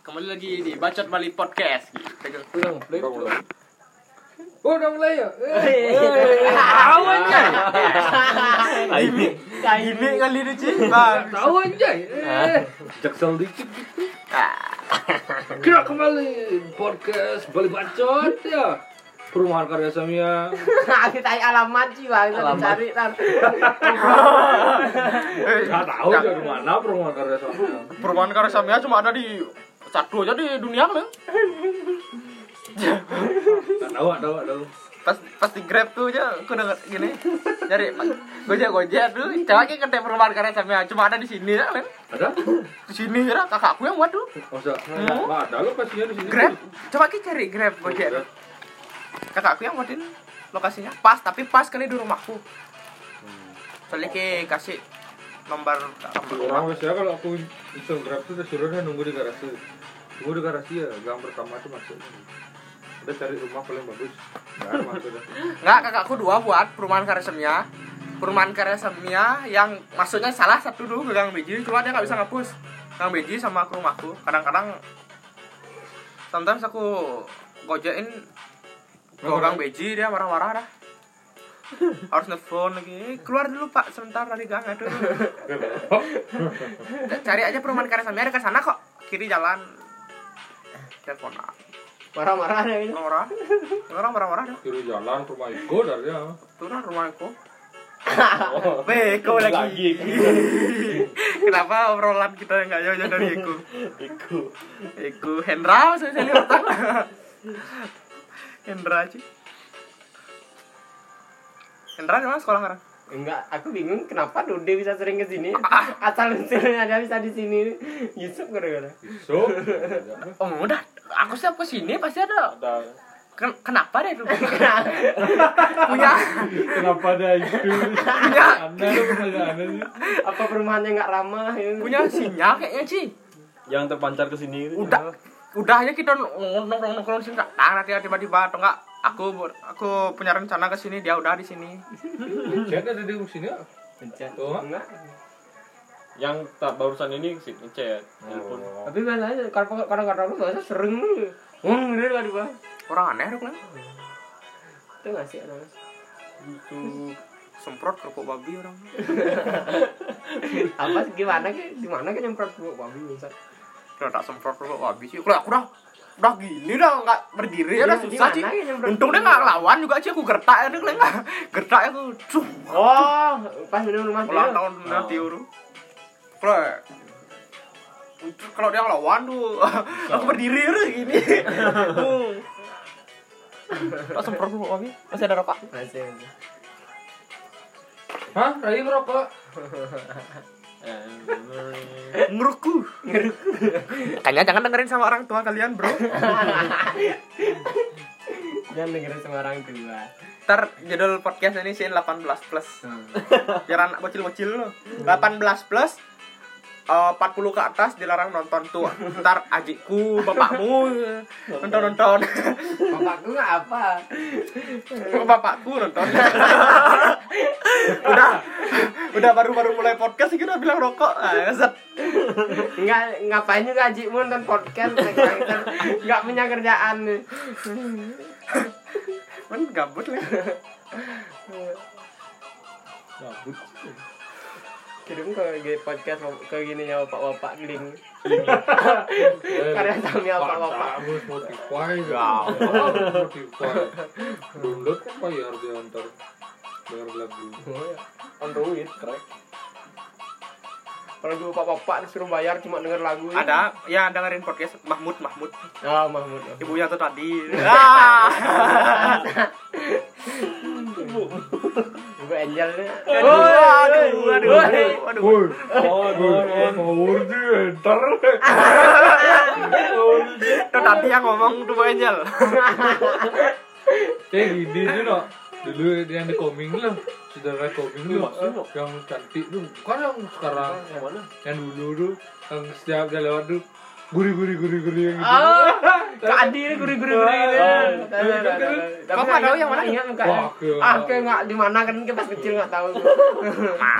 Kembali lagi di Bacot Bali Podcast. Udah mulai ya? Awan Jay. Ini kali ini Ci. Tahu aja. Jaksel dikit. Kira kembali podcast Bali Bacot ya. Perumahan Karya Samia. Kita alamat sih bang, cari kan. Nggak tahu dari mana Perumahan Karya Samia. Perumahan Karya Samia cuma ada di satu aja di dunia kan. Nggak tahu. Pas di Grab tuh aja aku denger gini. Nyari Gojek tuh, coba ke kedai Perumahan Karya Samia cuma ada di sini kan. Ada? Di sini ya kakakku yang buat tuh. Masa? Nggak ada lo pastinya di sini. Grab, coba kita cari Grab Gojek. Kakakku yang buatin lokasinya pas, tapi pas kali di rumahku. Soalnya kasih nomor Orang biasanya kalau aku iseng Grab tuh disuruhnya nunggu di garasi. Tunggu di garasi ya, gang pertama tuh masuk. Udah cari rumah paling bagus. Nggak ada masuk dah. Enggak, kakakku dua buat Perumahan Karya Samia. Perumahan Karya Samia yang maksudnya salah satu dulu ke Gang Beji, cuma dia nggak bisa ngapus Gang Beji sama ke rumahku. Kadang-kadang sometimes aku gojekin ke Gang Beji, dia marah-marah dah. Harus nelfon lagi, keluar dulu pak sebentar dari gang. Aduh, cari aja Perumahan Karya Samia, dekat sana kok, kiri jalan. Telepon Marah-marah ya ini. orang marah-marah dah. Kiri jalan rumah Iko dari ya. Turun rumahku. Beko lagi. Kenapa obrolan kita nggak jauh-jauh dari Iku Hendra saya lihat. Hendra sih. Hendra di mana sekolah sekarang? Enggak, aku bingung kenapa Dude bisa sering ke sini. Asal usulnya dia bisa di sini. Yusuf gara-gara. So, Oh udah, aku siap ke sini pasti ada. Kenapa deh itu? Punya. kenapa ada itu? Punya. Anda lu pertanyaannya sih. Apa perumahannya enggak ramah ini? Punya sinyal kayaknya sih. Yang terpancar ke sini gitu. Udah aja kita nongkrong sini tak nanti tiba-tiba atau enggak aku punya rencana ke sini, dia udah di sini. Chat ada di sini ya? Pencet. Oh. Enggak. Yang tak barusan ini sih ngechat. Telepon. Tapi masalahnya kadang-kadang lu bahasa sering lu. Gitu kan Bang. Orang aneh dong. Itu enggak sih orang. Itu semprot kerupuk babi orang. Apa sih gimana ke? Di mana kan nyemprot kerupuk babi Ustaz? Udah tak semprot kerupuk babi sih. Kalau aku udah gini dah nggak berdiri ya udah susah sih. Untung dia nggak ngelawan juga sih, aku gertak ya dia nggak gertak aku. Oh, pas minum rumah Ulang dia. tahun nanti uru. Kalau dia ngelawan tuh aku berdiri udah gini. Tak semprot kerupuk babi. Masih ada rokok? Masih. Hah? Rai ngerokok? Ngeruku. Makanya jangan dengerin sama orang tua kalian, bro. Jangan dengerin sama orang tua. Ntar judul podcast ini sih 18+. Biar anak bocil-bocil lo. 18+, 40 ke atas dilarang nonton tuh. Ntar adikku, bapakmu nonton. Bapakku nggak apa. Bapakku nonton. Udah baru mulai podcast sih udah bilang rokok. Ngeset. Nggak ngapain juga adikmu nonton podcast. Nggak punya kerjaan. Men gabut lah. Gabut. Kirim ke podcast ke gini ya bapak-bapak link. Karya Samia bapak-bapak. Kamu Spotify. Spotify. Download kan bayar dia antar. Bayar lagu. Android crack. Kalau gue bapak-bapak disuruh bayar cuma denger lagu. Ada ya dengerin podcast Mahmud. Oh, Mahmud. Ibunya tuh tadi. Ibu Angelnya. Aduh. Woi. Ngawur dia entar. Itu tadi yang ngomong tuh Angel. Kayak gini tuh no. Dulu yang di koming lah. Saudara koming lu. Yang cantik tuh. Bukan yang sekarang. Yang mana? Yang dulu tuh. Yang setiap dia lewat tuh. Gurih yang gitu. Oh, Kak Adi ini gurih-gurih gitu. Kamu nggak tahu yang mana? Ingat enggak? Wah, Kayak enggak di mana kan kita pas kecil enggak tahu.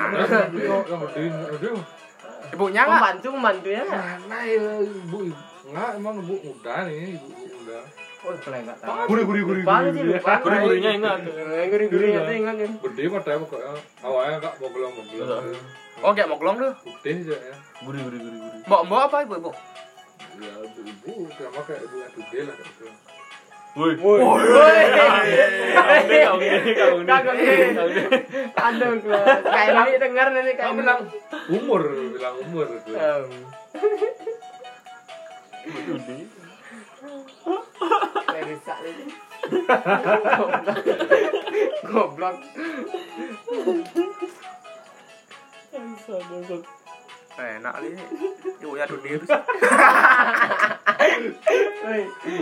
Yang gede. Ibunya nggak? Membantunya. Mana ya ibu? Enggak, emang ibu muda nih, ibu muda. Oh, kalau enggak tahu. Gurih. Lupa sih, lupa. Gurih-gurihnya ingat. Gurih-gurihnya tuh ingat kan. Gede matanya pokoknya. Awalnya enggak mogelong-mogelong. Oh, kayak moglong tuh. Putih aja ya. Gurih. Mbok apa ibu? Ya ibu, sama kayak ibu yang gede lah kayak gitu. Woi. Aduh, kayak ini dengar nih kayak Kamu bilang umur gitu. Rusak ini. Goblok. Enak nih. Ibunya dunia tuh. Woi.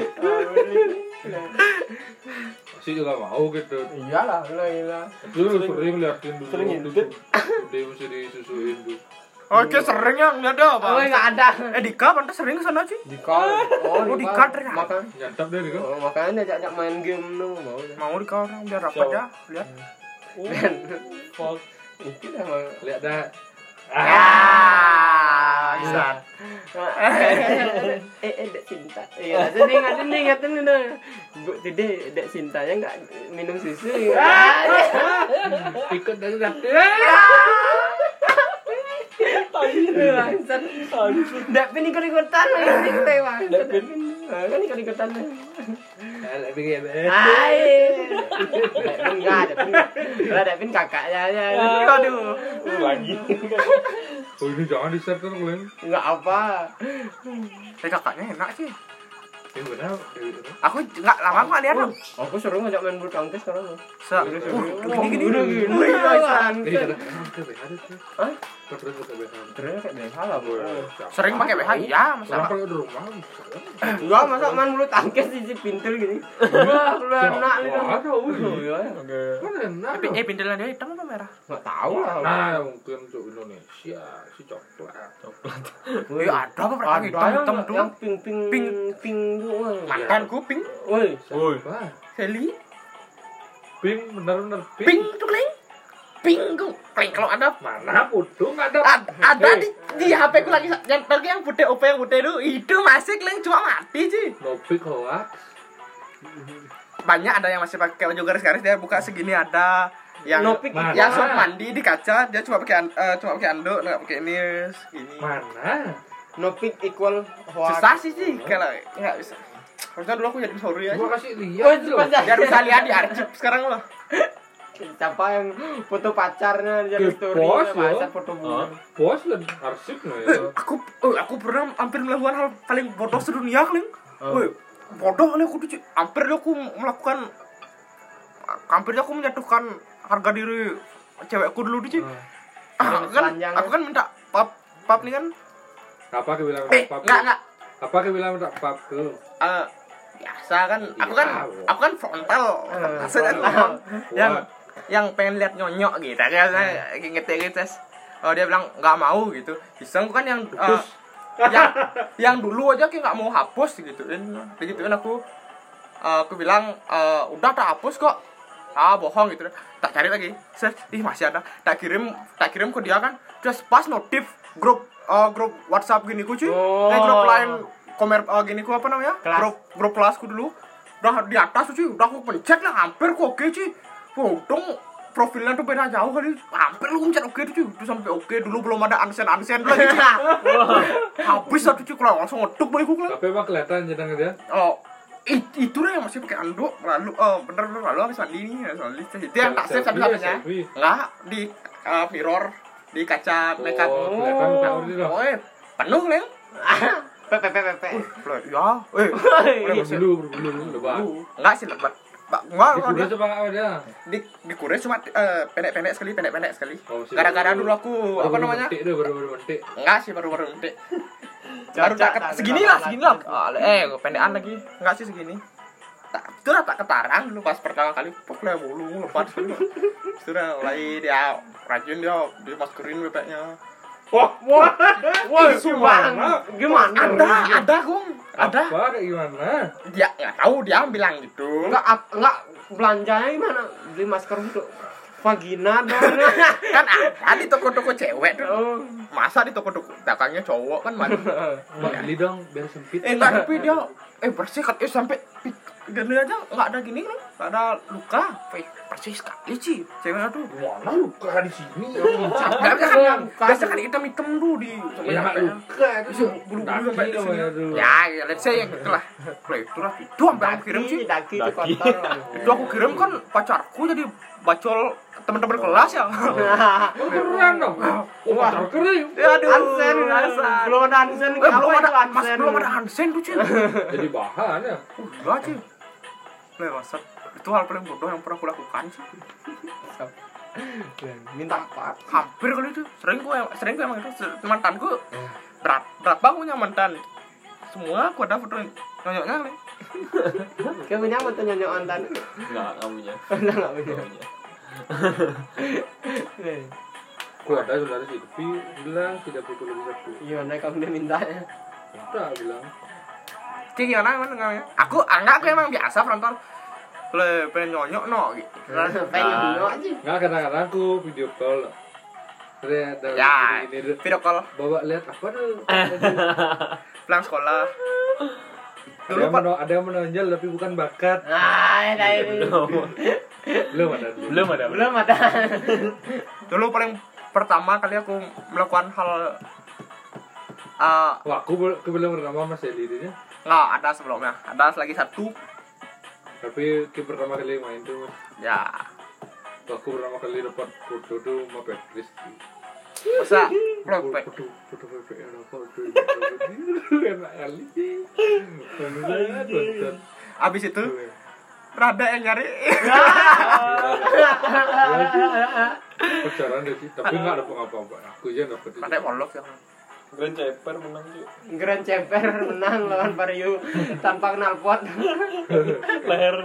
Masih juga mau gitu. Iyalah, lah. Dulu sering liatin dulu. Sering ngintip. Dia mesti disusuin tuh. Oke, sering yang enggak ada apa? Oh, enggak ada. Dika pantas sering ke sana sih. Dika. Oh, Dika ternyata. Makanya Nyantap deh gitu. makanya ajak main game lu mau. Mau Dika orang biar rapat ya. Lihat. Fuck. Itu dah mau. Lihat dah. Bisa. Dek Sinta. Iya, ingat ini dah. Bu, Dede, Dek Sintanya enggak minum susu. Ikut dari dapet. Bangsat. Dek pin ikut-ikutan lagi tewa. Dek pin. Kan ikut-ikutan. Hai. Dek pin enggak, Dek pin. Lah Dek pin kakaknya aja. Aduh. Lagi. Oh ini jangan di-share terus kalian. Enggak apa. Kakaknya enak sih. Yang benar. Aku enggak lama kok lihat. Aku seru ngajak main bulu tangkis sekarang. Gini. Wih, Ini kadang ke BH tuh. Hah? Terus ke BH. Terus kayak BH lah, Bu. Sering pakai BH ya, Orang masalah. pakai di rumah. Enggak, masa main bulu tangkis di pintul gini. Wah, lu enak nih. Ada, wih. Iya. Kan enak. Pindelan dia hitam apa merah? Enggak tahu lah. Nah, mungkin untuk Indonesia si coklat. Wih, ada apa pernah hitam tuh? yang pink Mantan kuping. woi Wah, Heli. pink benar-benar Pink tuh Kleng. Pink tuh. Kleng kalau ada Mana pudung ada. ada di HP ku lagi yang putih OP yang putih itu masih Kleng cuma mati sih. No pink hoax. Banyak ada yang masih pakai baju garis-garis dia buka segini ada yang Nopik yang suap mandi di kaca dia cuma pakai anduk nggak pakai ini segini. Mana? Nopik equal hoax. Susah sih kalau nggak bisa. Harusnya dulu aku jadi sorry aja. Gua kasih Oh, lihat loh. Biar bisa lihat di arsip sekarang loh. Siapa yang foto pacarnya jadi Ke story pos, masa yo. foto bunga. Bos dan arsip no ya. Aku pernah hampir melakukan hal paling bodoh sedunia Kleng. Woi, bodoh kali aku tuh hampir aku melakukan hampir aku menjatuhkan harga diri cewekku dulu tuh. Aku kan minta pap nih kan. Apa ke bilang pap? Enggak. Apa ke bilang minta pap tuh? Biasa kan aku kan frontal. Yang pengen lihat nyonyok gitu kayak saya ngetik gitu. Oh dia bilang enggak mau gitu. Iseng kan yang dulu aja kayak enggak mau hapus digituin aku bilang udah tak hapus kok. Bohong gitu. Tak cari lagi. Masih ada. Tak kirim ke dia kan. Terus pas notif grup WhatsApp gini ku cuy. Grup lain gini ku apa namanya? Grup kelasku dulu. Udah di atas cuy. Udah aku pencet lah hampir kok oke cuy. Untung profilnya tuh beda jauh kali. Hampir lu pencet oke tuh cuy. Itu sampai oke dulu belum ada unsend lagi. Habis satu cuy kalau langsung ngeduk bayiku kan. Tapi emang kelihatan jadinya dia. Itu lah yang masih pakai anduk lalu habis mandi nih itu yang tak save satu-satunya enggak di mirror di kaca makeup kelihatan muka udah dong. penuh Leng Pepe. ya Berbulu lebat. enggak sih lebat enggak Udah coba enggak ada. di kures cuma pendek-pendek sekali Oh, gara-gara dulu aku apa namanya baru mentik. enggak sih baru mentik baru segini lah pendekan lagi enggak sih segini itu lah tak ketarang dulu pas pertama kali pokoknya bulu lepas sudah mulai dia rajin dia maskerin bebeknya Wah, gimana? Ada Gong. Ada. Apa kayak gimana? Dia enggak tahu dia bilang gitu. Enggak belanjanya gimana? Beli masker untuk vagina dong. Kan ada di toko-toko cewek tuh. masa di toko dagangnya cowok kan mandi. Mbak beli dong biar sempit. Enggak, tapi dia bersih kan sampai gini aja enggak ada gini kan. Enggak ada luka. Bersih sekali sih. Ceweknya tuh. Mana luka di sini? Biasa kan hitam-hitam tuh di Ya luka itu bulu-bulu sampai di sini. aduh. Ya, let's say yang itulah. Itu sampai aku kirim sih. Daki itu kotor. Itu aku kirim kan pacarku jadi bacol teman-teman kelas ya. Keren dong. Oh, pacar kering. Aduh, Hansen, belum ada Hansen. belum ada Hansen tuh, Cil. Jadi bahan ya. Enggak, Cil. Bangsat. Itu hal paling bodoh yang pernah aku lakukan sih. Minta apa? Hampir kali itu. Sering gue emang itu mantanku. Berat banget punya mantan. Semua aku ada foto nyonyoknya kali. Kamu punya foto nyonyok mantan? Enggak punya. Enggak punya. Aku ada saudara sih, tapi bilang tidak butuh lebih satu. Gimana kamu dia mintanya? Udah bilang. Cik gimana namanya? Aku emang biasa frontal. Le pengen nyonyok no gitu. Pengen nyonyok aja. Nggak kadang-kadang aku video call. Terus ada Ya, ini video call bawa lihat apa tuh? pulang sekolah. Ada yang menonjol tapi bukan bakat. Ini. Belum ada. Belum ada. Dulu paling pertama kali aku melakukan hal Wah, aku belum bernama Mas Eli ini. nggak ada sebelumnya. Ada lagi satu. Tapi pertama kali main tuh, Mas. Ya. Aku pertama kali dapat foto tuh sama Patrice. Masa propek. Foto Pepe yang apa tuh? Enak kali. Abis itu Rada yang nyari. Pacaran deh sih, tapi nggak dapet apa-apa. Aku aja dapet itu. Pakai molok ya. Grand Ceper menang sih. Grand Ceper menang lawan Vario tanpa knalpot. Leher.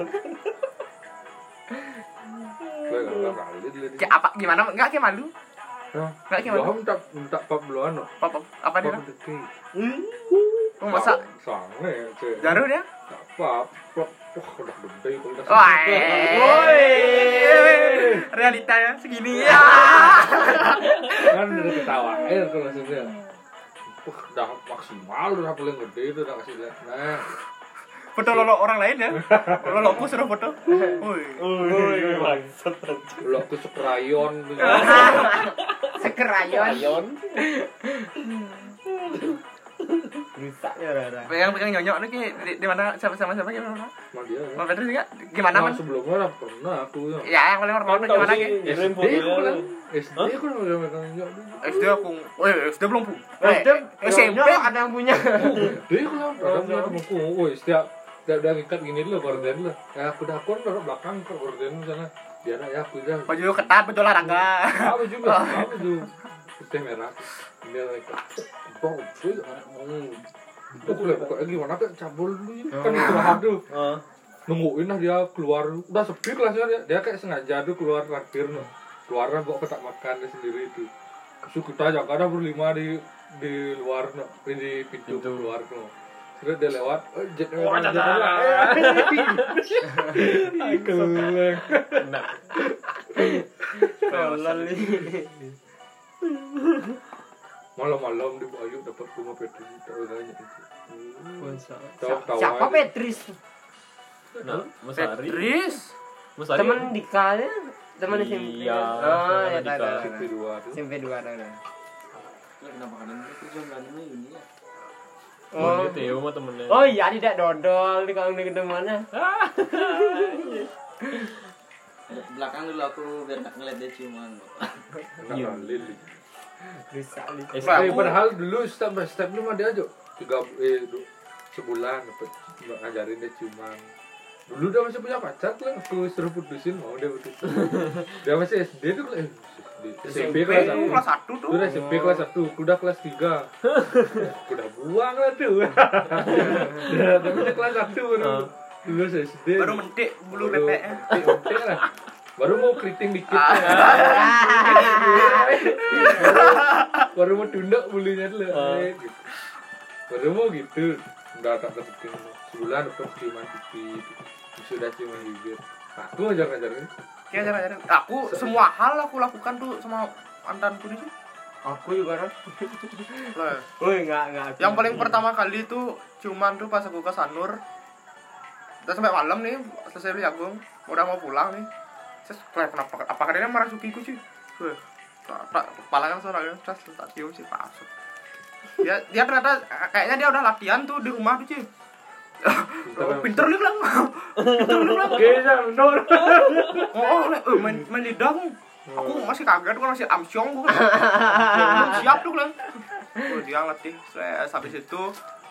Gue nggak kali dulu. Kayak apa gimana? Enggak kayak malu. Enggak kayak malu. Gua minta pap duluan loh. Apa dia? Pap deki. Oh, masa Sange ya, cuy. jaru dia? Pap udah gede kalau udah. Woi. Realitanya segini ya. Kan udah ketawain kalau langsungnya. Udah maksimal udah paling gede itu udah kasih lihat. Nah, Foto lolo orang lain ya. Loloku suruh foto. Woi. Bangsat. kalau aku sekrayon gitu. Sekerayon. Rusak ya Rara. Pegang nyonyok nih di mana siapa gimana? Sama dia. Mau Pedri juga gimana Nah, man? sebelumnya lah pernah aku ya. Ya yang paling hormat gimana ki? Kirim SD aku fotonya. bilang. SD aku udah megang nyok dulu. SD aku, SD belum pu. SMP ada yang punya. Gede aku lah. Kadang punya temanku. Woi, setiap udah ngikat gini dulu gorden dulu. Ya aku dah aku taruh belakang ke gorden sana. Dia ada ya aku dah. Baju ketat, baju olahraga. Apa juga? Apa tuh? Putih merah. Dia ikat. Bang, cuy. Aku lihat pokoknya gimana kan cabul dulu ini. Kan istirahat tuh. Nungguin lah dia keluar. Udah sepi kelasnya dia. Dia kayak sengaja tuh keluar terakhir no. Keluarnya bawa kotak makan dia sendiri itu. Terus kita jaga ada berlima di luar no. Di pintu keluar no. Terus dia lewat, jetnya keleng. Nah. Malam-malam di Bayu dapat rumah Petri tahu banyak itu. Siapa Petris? Nah, Mas Ari. Pedris. Mas Ari. Teman Dika-nya, teman SMP. Iya, Oh, ya Dika. tahu. SMP 2 tuh. SMP 2 ada. Kenapa kalian itu jumlahnya ini ya? Oh, ini Theo mah temennya. Oh iya, tidak dodol di kalau di mana? Belakang dulu aku biar nggak ngeliat dia ciuman. Iya. Lili. Bisa nih. Padahal dulu step by step lu mah dia aja sebulan dapat ngajarin dia ciuman. Dulu dia masih punya pacar lah, aku suruh putusin mau dia putusin. Dia masih SD tuh SMP kelas 1. Kelas 1 tuh. Udah SMP kelas 1, udah kelas 3. Udah buang lah tuh. Tapi dia kelas 1 baru. Dulu SD. Baru mentik bulu pepeknya. Mentik lah. Baru mau keriting dikit. Baru mau tunduk bulunya dulu. Gitu. Baru mau gitu. Udah tak kepiting. Sebulan dapat ciuman pipi. Sudah ciuman bibir. Aku ngajar-ngajarin. Aku semua hal aku lakukan tuh sama mantanku nih. Aku juga kan. Lah, Woi, enggak. yang paling pertama kali itu ciuman tuh pas aku ke Sanur. Udah sampai malam nih, selesai beli jagung, udah mau pulang nih. Terus kenapa apakah dia marah sukiku sih? Tak kepala kan soalnya terus tak cium sih pasut. Dia ternyata kayaknya dia udah latihan tuh di rumah tuh sih. Pinter nih bilang. Main lidah aku masih kaget kan masih amsyong gue. Siap tuh bilang. Dia ngelatih. Habis itu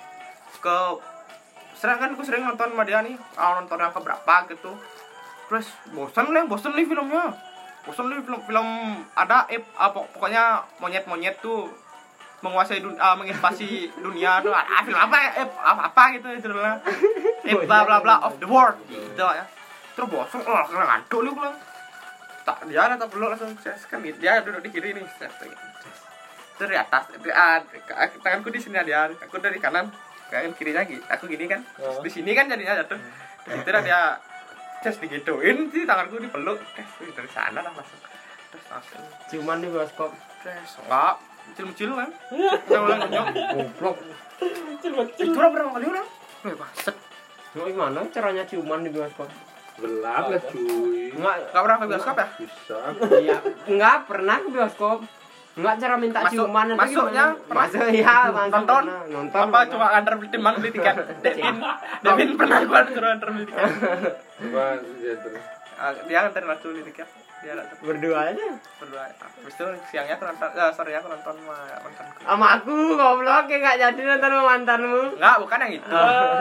sering nonton sama dia nih. Nonton yang keberapa gitu. Terus bosen nih filmnya. Bosen nih film ada pokoknya monyet-monyet tuh menguasai menginvasi dunia tuh film apa gitu judulnya bla bla bla of the world gitu ya. Terus bosan kena ngantuk lu bilang tak dia tak perlu langsung kan dia duduk di kiri nih terus di atas tanganku di sini dia aku dari kanan kanan kirinya gitu aku gini kan di sini kan jadinya jatuh terus itu dia digituin sih tanganku dipeluk dari sana lah langsung terus langsung Ciuman di bioskop. terus enggak kecil-kecil kan yang ulang nyok goblok itu lah berapa kali ulang baset Mau gimana caranya ciuman di bioskop? Gelap lah cuy. Enggak pernah ke bioskop ya? Bisa. Iya, enggak pernah ke bioskop. Enggak cara minta ciuman itu masuknya gimana? Masuk ya, nonton nonton apa cuma antar timbang beli tiket Devin pernah gua suruh antar beli tiket Coba dia terus. dia antar langsung beli tiket dia berdua aja. berdua habis itu siangnya aku nonton sore aku nonton sama mantanku Sama aku goblok ya enggak jadi nonton sama mantanmu. enggak bukan yang itu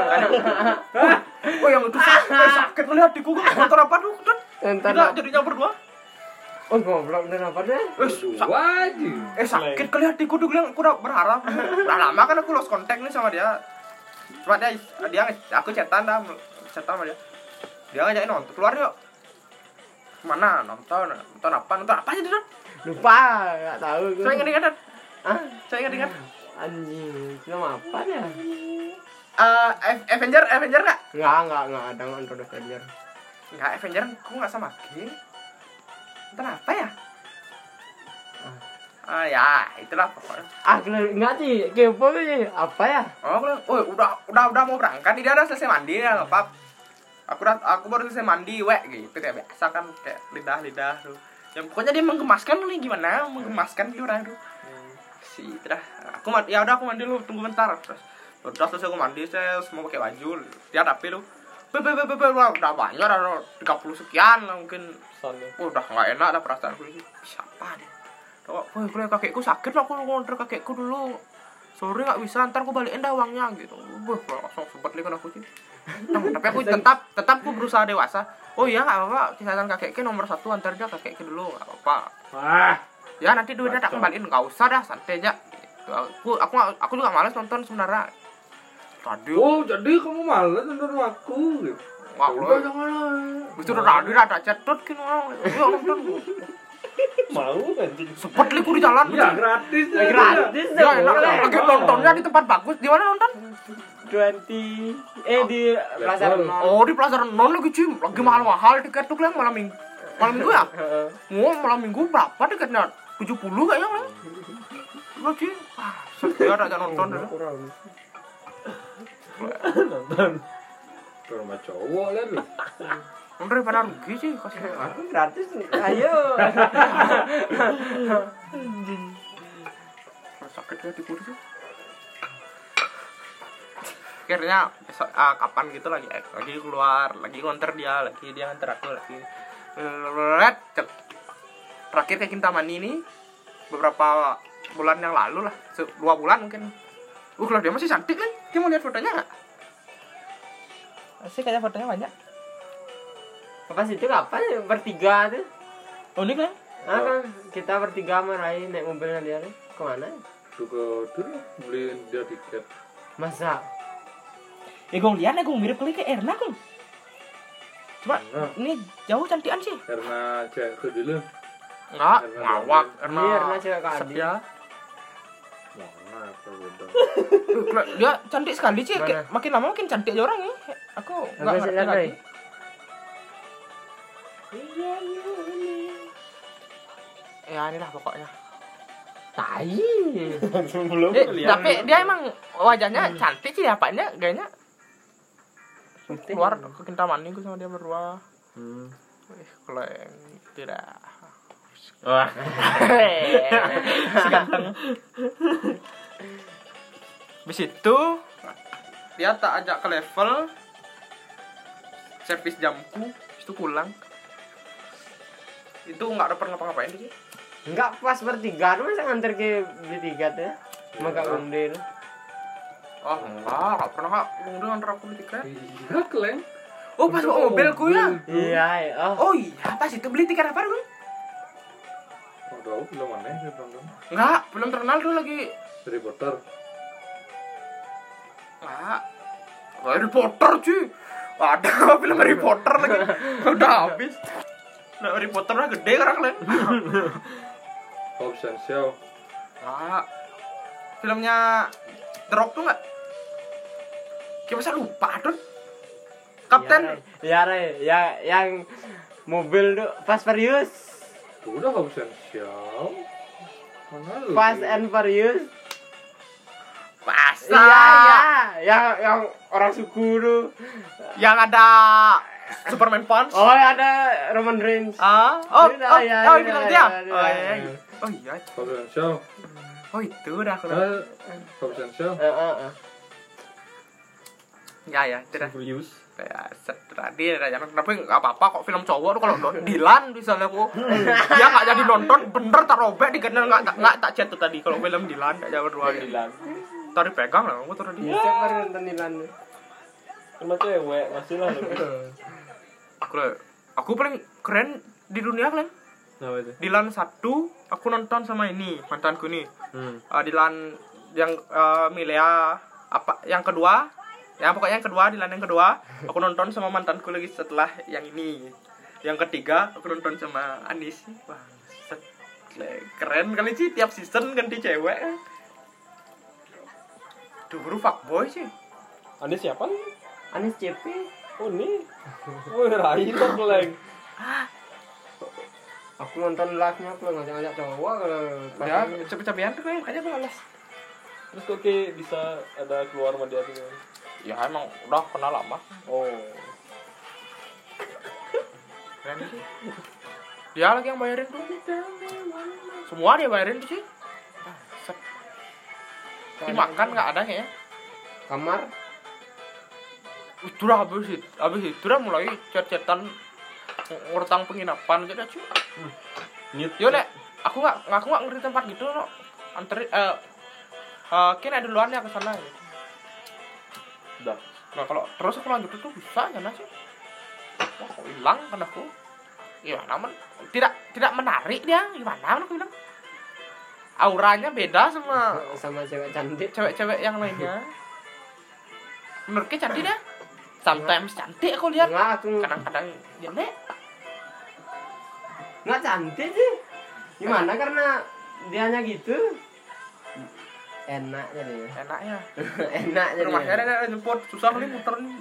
oh yang itu sakit melihat hatiku nonton apa tuh Nonton kita jadinya berdua Oh goblok dan apa deh? Wajib. Sakit kali hatiku tuh bilang aku udah berharap udah lama kan aku lost contact nih sama dia cuma dia aku chatan sama dia ngajakin nonton keluar yuk mana nonton apa aja dia Lupa, enggak tahu gue. saya ingat Hah? saya ingat Anjing, film apa ya? Avenger nggak Enggak ada nonton Avenger. nggak Avenger aku nggak sama G nonton apa ya ya itulah pokoknya Enggak sih, kepo sih. Apa ya? udah mau berangkat dia udah selesai mandi ya nggak apa aku baru selesai mandi gitu kayak biasa kan kayak lidah tuh yang pokoknya dia menggemaskan nih gimana menggemaskan dia orang tuh sih dah aku mandi dulu tunggu bentar terus udah selesai aku mandi saya semua pakai baju dia rapi lu udah banyak ada 30 sekian mungkin udah nggak enak dah perasaanku ini siapa nih kalau kakekku sakit lah aku ngonter kakekku dulu sore nggak bisa ntar aku balikin dah uangnya gitu langsung sempet lihat aku sih tapi aku tetap aku berusaha dewasa iya nggak apa-apa kesehatan kakekku nomor 1 antar aja kakekku dulu nggak apa-apa ya nanti duitnya tak kembaliin nggak usah dah santai aja gitu. aku juga malas nonton sebenarnya radio Jadi kamu malas nonton aku gitu. wah lo itu radio ada cetut kan yuk nonton Mau anjing. sempet lihat aku di jalan Ya gratis. Gratis ya enak lagi nontonnya di tempat bagus di mana nonton 20 di Plaza Renon. di Plaza Renon lagi cuy lagi mahal-mahal tiket tuh kan malam minggu ya malam minggu berapa tiketnya 70 kayaknya kan lo cuy saya ada nonton dulu Nonton. Ke rumah cowok lah lu. daripada rugi sih kasih Aku gratis. Ayo. sakit ya di kursi akhirnya besok kapan gitu lagi keluar lagi ngonter dia nganter aku lagi terakhir ke Kintamani ini beberapa bulan yang lalu lah 2 bulan mungkin kalau dia masih cantik kan dia mau lihat fotonya nggak sih kayaknya fotonya banyak Pas itu kapan ya? Bertiga tuh. unik kan Kan kita bertiga marahin naik mobilnya dia nih. Kemana? Tuh ke beliin dia tiket. Masa? gue lihat gue mirip kali ke Erna kan coba ini jauh cantikan sih Karena cewek ke dulu. nggak ngawak Erna cewek kadi. setia Mana apa bodoh. dia cantik sekali sih Mana? makin lama makin cantik aja orang nih aku nggak Apa sih ngerti lihat lagi lagi? ya inilah pokoknya Tai. Belum Tapi dia emang wajahnya cantik sih, apanya gayanya keluar ke Kintamani gue sama dia berdua. Kalau yang tidak Wah. si ganteng. Habis itu dia tak ajak ke level servis jamku, itu pulang. Itu nggak ada pernah ngapa-ngapain sih. Enggak pas bertiga, masa nganter ke bertiga tuh ya? Maka undir. Oh enggak pernah kak udah nganter aku beli tiket. Iya, Kleng. Oh pas bawa mobilku ya. Iya, Oh iya pas itu beli tiket apa dulu? Oh, tahu belum aneh dia nonton. Enggak, belum terkenal dulu lagi. Harry Potter. Enggak. Harry Potter cuy. Ada film Harry Potter lagi. Udah habis. Nah, Harry Potter udah gede sekarang kalian. Hobbs and Shaw. Enggak. Filmnya The Rock tuh enggak? Kita masa lupa, Don? Kapten. Ya, ya yang mobil tuh Fast Furious. Udah Hobbs and Shaw. Mana lu? Fast and Furious. Masa? Iya. Yang orang suku tuh. Yang ada Superman Punch. Oh, ada Roman Reigns. Film dia. Iya. Oh iya. Oh iya. Hobbs and Shaw. Oh itu udah aku. Hobbs and Shaw. Ya, itu dah. Serius. Kayak tadi tapi nggak apa-apa kok film cowok tuh kalau Dilan misalnya aku dia nggak jadi nonton bener tak robek di kanal nggak tak chat tuh tadi kalau film Dilan nggak jawab dua Dilan. tadi pegang lah aku tadi Iya, siapa yang nonton Dilan? Cuma cewek masih lah. aku paling keren di dunia kalian. Nah, itu. Dilan 1 aku nonton sama ini mantanku nih. Dilan yang Milea apa yang kedua. Ya pokoknya yang kedua, Dilan yang kedua aku nonton sama mantanku lagi setelah yang ini. Yang ketiga aku nonton sama Anis. Wah, keren kali sih tiap season ganti cewek. Dulu fuckboy sih. Anis siapa nih? Anis CP. Oh nih. Oh Rai tuh Kleng. Aku nonton live-nya aku ngajak-ngajak cowok kalau Ya, cepet-cepetan tuh kayaknya malas. Terus kok kayak bisa ada keluar sama dia tuh? Ya emang udah kenal lama. Oh. Keren sih. Dia lagi yang bayarin tuh. Semua dia bayarin tuh sih. Dimakan nggak ada kayaknya. kamar. Itu udah habis itu udah mulai chat-chatan ngurutang penginapan aja dah cuy. Yo nek, aku nggak ngerti tempat gitu no. Anterin kira duluan ya ke sana gitu. Udah. Nah kalau terus aku lanjut itu bisa jangan sih. Wah kok hilang kan aku. Gimana men? Tidak menarik dia. Gimana aku bilang? Auranya beda sama Cewek cantik. cewek-cewek yang lainnya. Menurutnya cantik dah. Sometimes cantik aku lihat. Enggak, aku Kadang-kadang jelek. enggak cantik sih. Gimana karena dianya gitu. Enak jadi. Enaknya. Enak jadi. Rumahnya ada nyempot susah kali muter nih.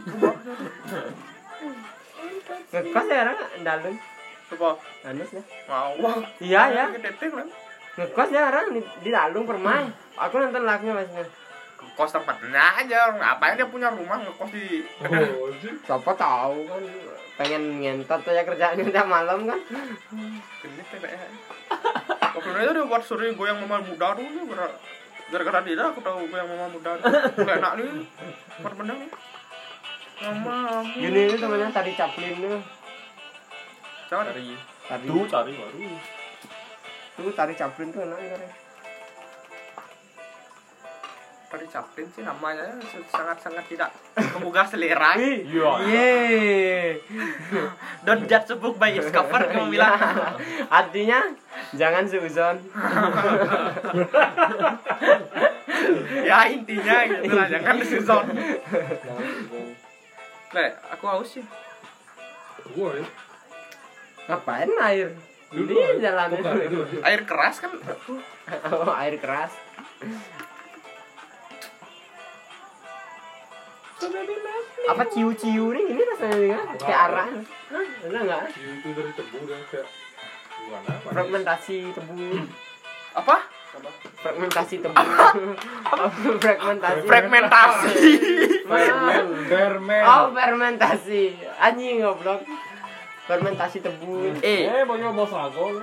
Ngekos ya orang dalam. Coba Anis ya. mau. Iya ya. Gede kan. Ngekos ya orang di Dalung Permai. Aku nonton live-nya masnya. Kos tempatnya aja. Ngapain dia punya rumah ngekos di Oh, sih. Siapa tahu kan pengen ngentot aja kerjaannya tiap malam kan. Genit TPN. Waktu itu dia buat suri goyang mama muda dulu gara-gara dia aku tahu goyang mama muda. Gak enak nih. Buat bener nih. Mama. Gini ini temannya tadi Chaplin tuh. Jangan. Cari. Tadi Tuh cari baru. tuh tadi Chaplin tuh enak kan. Tadi Chaplin sih namanya sangat-sangat tidak menggugah selera. Iya. Yeay. Don't judge a book by its cover kamu bilang. Artinya jangan seuzon. Ya intinya gitu lah, jangan disuzon. Nek, aku haus sih. Gua ya. Ngapain air? Dulu Ini jalan bukan itu. Air keras kan. Oh, air keras. Apa ciu-ciu nih ini rasanya juga kayak arah. Hah, ada enggak? Itu dari tebu dan kayak gimana? Fragmentasi tebu. Apa? Fragmentasi tebu. Fragmentasi. Fermen. Oh, fermentasi. Anjing goblok. Fermentasi tebu. banyak bos sago.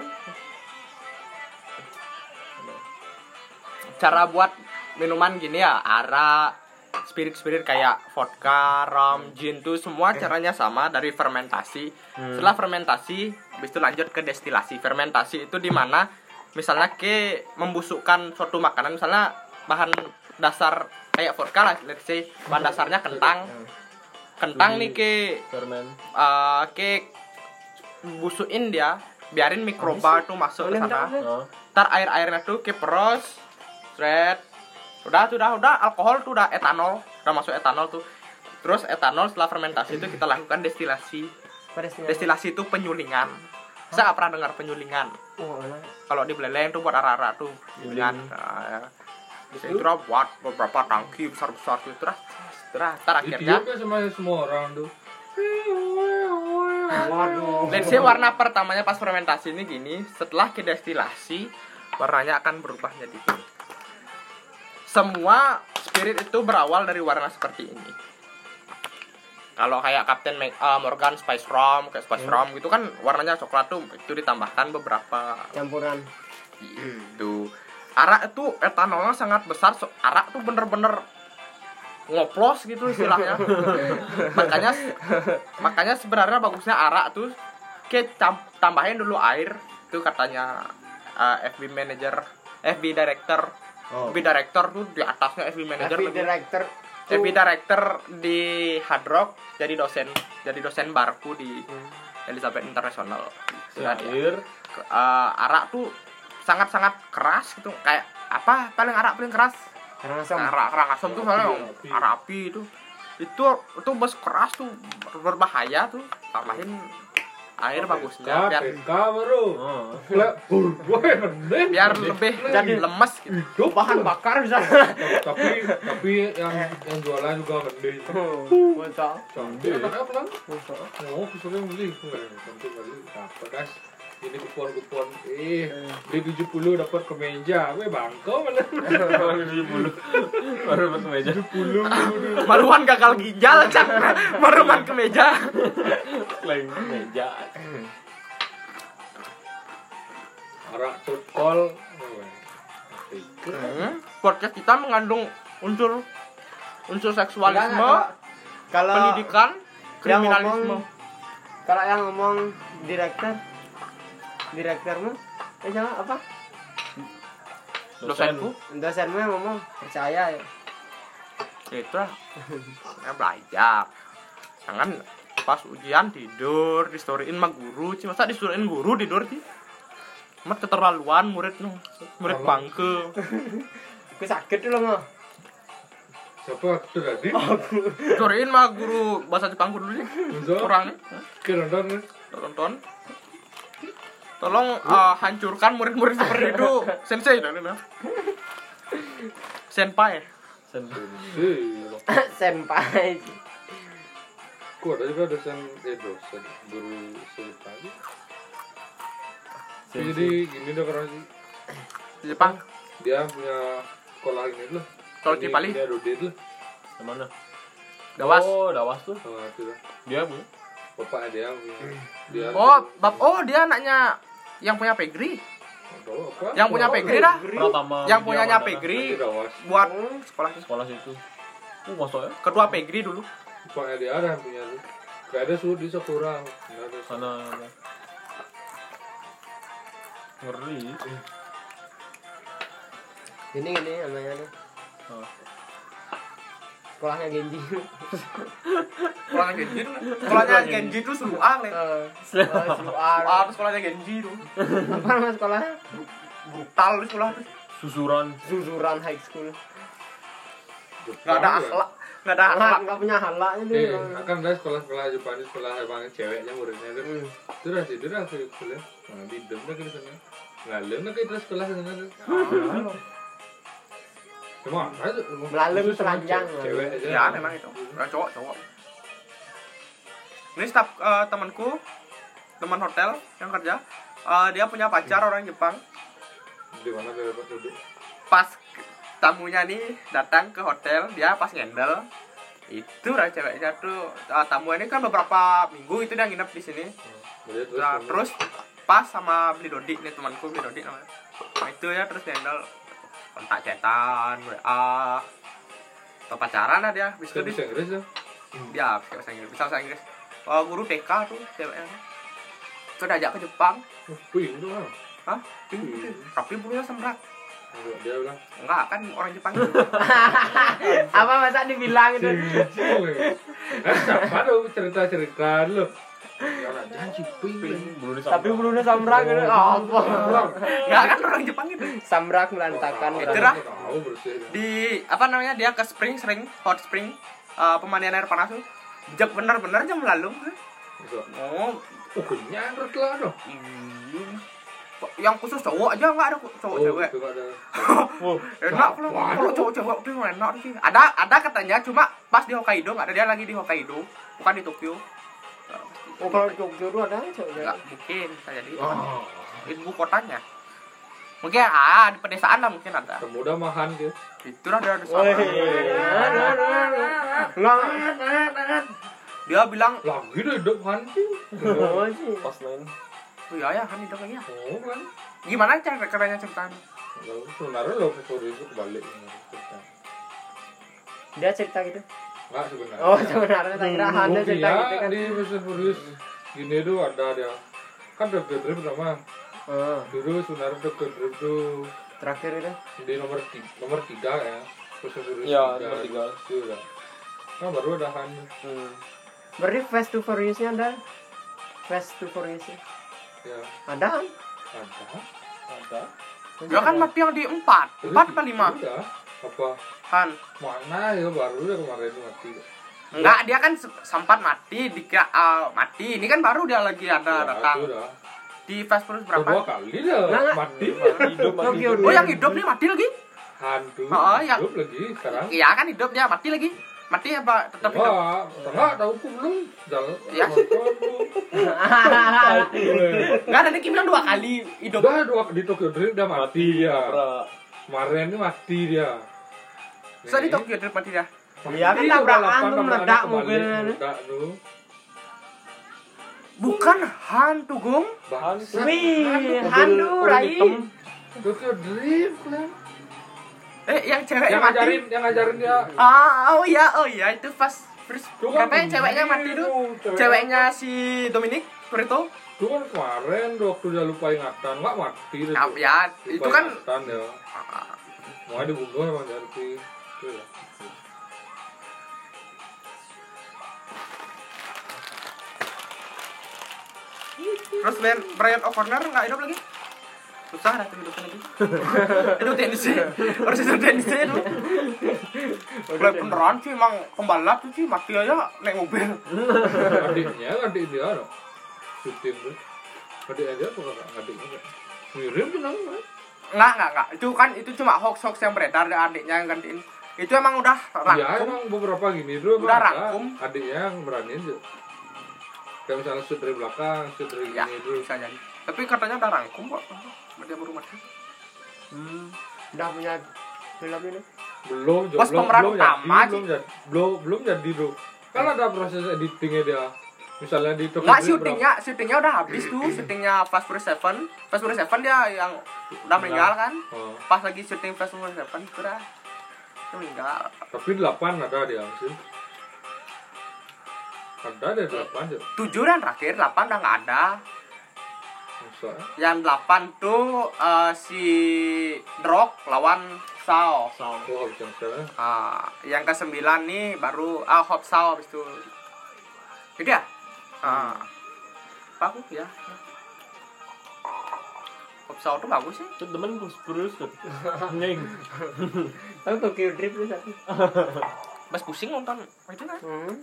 Cara buat minuman gini ya, arak, spirit kayak vodka, rum, gin tuh semua caranya sama dari fermentasi. Setelah fermentasi, habis itu lanjut ke destilasi. Fermentasi itu di mana misalnya ke membusukkan suatu makanan, misalnya bahan dasar kayak vodka lah, let's say bahan dasarnya kentang. Kentang nih Fermen. ke busukin dia, biarin mikroba tuh masuk ke sana. Oh. Ntar airnya tuh ke peros, thread. Udah alkohol tuh udah etanol, udah masuk etanol tuh. Terus etanol setelah fermentasi itu kita lakukan destilasi. Destilasi itu penyulingan. Saya nggak pernah dengar penyulingan. Kalau di Beleleng tuh buat arak-arak tuh penyulingan. Nah, itu buat beberapa tangki besar-besar tuh terus ntar akhirnya Itu sama semua orang tuh. Waduh. let's say warna pertamanya pas fermentasi ini gini, setelah ke destilasi warnanya akan berubah jadi ini. Semua spirit itu berawal dari warna seperti ini. Kalau kayak Captain Morgan Spice Rum, kayak Spice Rum gitu kan warnanya coklat tuh, itu ditambahkan beberapa Campuran. gitu. Arak itu etanolnya sangat besar, arak tuh bener-bener ngoplos gitu istilahnya. makanya sebenarnya bagusnya arak tuh tambahin dulu air tuh katanya FB director. FB director tuh di atasnya FB manager. FB director di Hard Rock jadi dosen barku di Elizabeth International. Sudah dia. Arak tuh sangat-sangat keras gitu, kayak apa arak paling keras? Arak asam tuh soalnya arak api itu bos keras tuh, berbahaya tuh. Tambahin air bagusnya biar lebih jadi lemes gitu. Bahan bakar bisa. tapi yang jualan juga gede. Masa. Cantik. Apa kan? Oh, kesulitan beli. Cantik beli. Apa guys? Ini kupon beli 70 dapat kemeja. Weh bangkau mana? 70. Baru dapat kemeja. 70. Maruan gagal ginjal cak. Maruan kemeja. Klaim kemeja. Arak turkol. Podcast kita mengandung unsur seksualisme, Kalau pendidikan, yang kriminalisme. kalau yang ngomong direkturmu siapa apa? Dosenmu yang ngomong percaya ya. Itu lah. Ya belajar. Jangan pas ujian tidur, distoryin sama guru. Masa distoryin guru tidur sih? Mat keterlaluan murid bangke. Aku sakit dulu mah. Siapa itu tadi? Distoryin sama guru bahasa Jepang dulu sih. Orangnya. Tonton. Tolong hancurkan murid-murid seperti itu. Sensei dah. Senpai. Senpai. Kok ada juga dosen guru senpai. Jadi gini dong orang sih. Di Jepang. Dia punya sekolah ini loh. Kalau di Bali. Dia Rodit loh. Mana? Dawas. Oh, Dawas tuh. Itu lah. Dia Bu. Bapaknya dia punya. Dia. Dia anaknya yang punya pegri. Apa? Yang punya pegri dah. Pratama. Yang punyanya pegri buat sekolah itu. Masuk ya? Kedua pegri dulu. Bapaknya dia ada yang punya tuh. Gak ada suruh di Sakura. Sana. Ngeri. Ini namanya tuh. Sekolahnya Genji. Sekolahnya Genji itu Seluang nih. Sekolahnya Genji tuh. Apa nama sekolahnya? Brutal di sekolah tuh. Suzuran High School. Enggak ada akhlak. Enggak punya halaknya tuh. Kan ada sekolah-sekolah Jepang, sekolah Jepang ceweknya muridnya tuh. Itu dah kuliah. Nah, di dem dah ke sana. Ngalem dah ke sekolah sana tuh. Cuma melalui telanjang. Cewek aja. Ya, memang itu. Cowok. Ini staf temanku, teman hotel yang kerja. Dia punya pacar orang Jepang. Di mana dia dapat duduk? Pas tamunya nih datang ke hotel, dia pas ngendel itu lah ceweknya tuh tamu ini kan beberapa minggu itu dia nginep di sini. Nah, terus pas sama beli Dodik nih, temanku beli Dodik namanya. Nah, itu ya terus ngendel kontak chatan, WA atau pacaran lah dia. Bisa Bisa Inggris ya? dia bisa bahasa Inggris, bisa bahasa Inggris. Guru TK tuh ceweknya. Itu diajak ke Jepang. Wih, itu kan. Hah? Tapi bulunya sembrak. Dia bilang, Enggak, kan orang Jepang gitu. Apa masa dibilang itu? siapa tuh cerita-cerita lu? Ya orang janji ping. Tapi bulunya samrak gitu. Apa? Enggak, kan orang Jepang gitu. Samrak melantakan. Itu dah. Tahu bersih. Di apa namanya, dia ke spring sering hot spring, pemandian air panas tuh. Bener-bener jam lalu. Oh, kenyang lah dong. yang khusus cowok aja nggak ada cowok cewek. Itu ada. Enak kalau cowok cewek tuh enak sih. Ada katanya, cuma pas di Hokkaido nggak ada, dia lagi di Hokkaido, bukan di Tokyo. Oh, kalau di Jogja itu ada cowoknya. Nggak mungkin saya di ibu kotanya. Mungkin di pedesaan lah mungkin ada. Pemuda mahan dia. Itulah dia di sana. Dia bilang, Lagi deh hidup han sih. Oh sih. Pas lain. oh iya ya kan itu kayaknya. Oh kan. Gimana caranya ceritain? Lalu sebenarnya lo story itu kebalik. Dia cerita gitu. Enggak sebenarnya. Oh, sebenarnya tak kira Hana cerita Iya, gitu kan. di Fast and Furious gini tuh ada dia. Kan Tokyo Drift pertama. Dulu sebenarnya Tokyo Drift tuh Terakhir itu. di nomor 3 ya. Fast and Furious. Ya, nomor 3. Itu udah. Nah, baru ada Han. Berarti Fast to Furious-nya ada. Fast to Furious. Ya, Ada kan? ada. Dia kan mati yang di 4 apa 5? Udah. Apa? Han. Mana ya baru ya kemarin mati. Enggak, dia kan sempat mati, dikira mati. Ini kan baru dia lagi ada datang. Udah. Di Fast Furious Dua berapa? kali dah Nggak. mati. Tokyo Oh, yang hidup nih mati lagi? Hantu. Oh, yang- Hidup lagi sekarang. Iya kan hidup, dia mati lagi. Mati apa tetap hidup? Wah, enggak tahu ku belum jalan. Ya. Enggak, tadi Kim bilang 2 kali hidup. Udah dua di Tokyo Drift udah mati ya. Pra. Kemarin ini mati dia. Bisa di Tokyo Drift mati dia. Iya kan tabrakan tuh meledak mobilnya. Meledak tuh. Bukan hantu, Gong. Bangsat. Wih, hantu Rai. Tokyo Drift lah. Yang ceweknya Yang mati. ngajarin dia. Oh iya, itu pas first. Katanya ceweknya mati tuh. Ceweknya si Dominic Toretto. Itu kan kemarin waktu dia lupa ingatan, nggak mati dia. Ya, itu kan ingatan ya. Mau dibunuh emang dari itu ya. terus Brian O'Connor nggak hidup lagi. Susah dah tuh hidupnya lagi. Itu TNC. Harus itu TNC itu. Mulai beneran sih emang pembalap tuh sih mati aja naik mobil. Adik dia loh. Syuting tuh. Adik aja tuh adiknya. Mirip benar kan? Enggak. Itu cuma hoax yang beredar dari adiknya yang gantiin. Itu emang udah Iya rangkum. emang beberapa gini tuh Udah ada rangkum. adiknya yang beraniin tuh. Kayak misalnya shoot dari belakang, shoot dari Ya, gini tuh. bisa jadi. Tapi katanya udah rangkum kok. Dia baru mati. Udah punya film ini. Bos pemeran utama belum jadi tuh. Kan ada proses editingnya dia. Misalnya di Tokyo Enggak, Drift syutingnya udah habis tuh. Syutingnya Fast Furious 7. Fast Furious 7 dia yang udah meninggal kan. Oh. Pas lagi syuting Fast Furious 7 itu udah dia meninggal. Tapi 8 ada dia sih. Ada 8 aja. 7 dan terakhir, 8 udah nggak ada. Masa? Yang 8 tuh si Rock lawan Sao. Oh, habis yang saya. Yang ke-9 nih baru Hop Sao habis itu. Itu ya? Bagus ya. Hop Sao tuh bagus sih. Itu temen terus tuh. Nying. Tahu Tokyo Drift itu satu. Mas pusing nonton itu kan?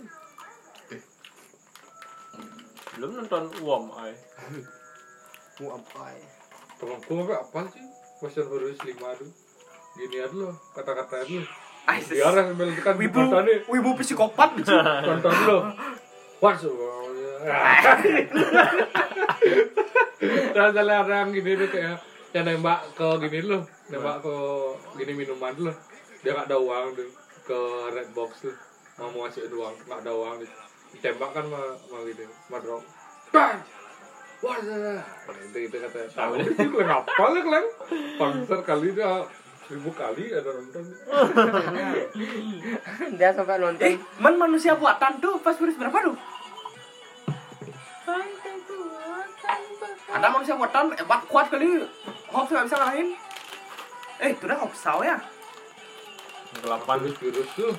Belum nonton Uam ay. Apa ya? Temanku apa sih? Fast and Furious 5 tuh. Gini aja loh, kata-kata aja. Aisyah. Biar sambil kan Wibu psikopat gitu. tonton lo. What's Terus ada yang gini tuh kayak yang nembak ke gini loh, nembak ke gini minuman loh. Dia nggak ada uang tuh ke red box tuh, mau ngasih uang, nggak ada uang, ditembak kan sama gitu, sama drop. Bang, wah, itu kata. Tahu itu kenapa lah kalian? Konser kali dia 1000 kali ada nonton. Dia sampai nonton. Manusia buatan tuh pas virus berapa tuh? Ada manusia buatan hebat kuat kali. Hoax nggak bisa ngalahin. Itu udah hoax ya. 8 virus tuh.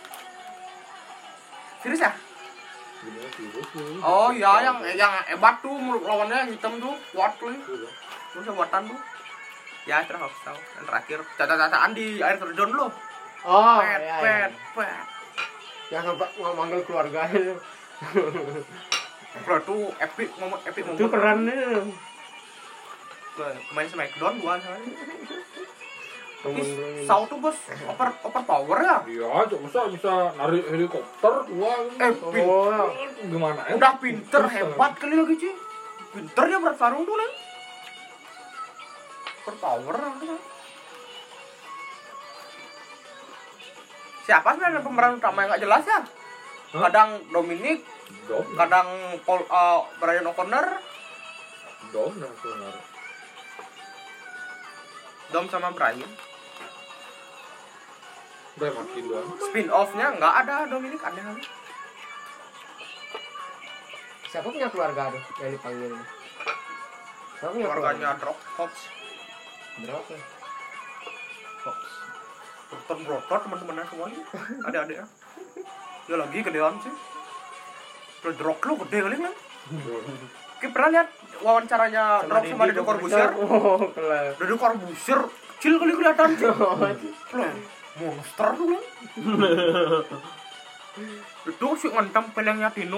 Virus ya? Gimana virus tuh? Oh iya, yang hebat tuh lawannya yang hitam tuh kuat kali. Manusia buatan tuh. Ya itu hoax yang terakhir caca-cacaan di air terjun loh. Oh, Pet, iya, pet, iya. pet. Yang sampai manggil keluarganya. Bro tuh epic momen. Itu keren nih. Main Smackdown gua soalnya. Temen Saw tuh bos over power ya. Iya, cuma bisa narik helikopter gua. Gimana ya? Udah pinter hebat kali lagi cuy. Pinter dia bertarung tuh nih. Over power tuh. Siapa sebenarnya pemeran utama yang nggak jelas ya? Kadang Dominic, kadang Brian O'Connor, Dom sama Brian. Udah makin doang. Spin off-nya nggak ada Dominic, ada lagi. Siapa punya keluarga tuh yang dipanggil? Siapa punya Keluarganya Drop Fox, Berapa? Dr. Brotor teman-temannya semuanya, adik-adiknya. Ya lagi gedean sih. Drop lo gede kali kan? Kita pernah lihat wawancaranya Drop sama Deddy Corbuzier. Oh, kelas. Deddy Corbuzier kecil kali kelihatan sih. Monster tuh kan. Itu sih ngentem pelengnya Dino.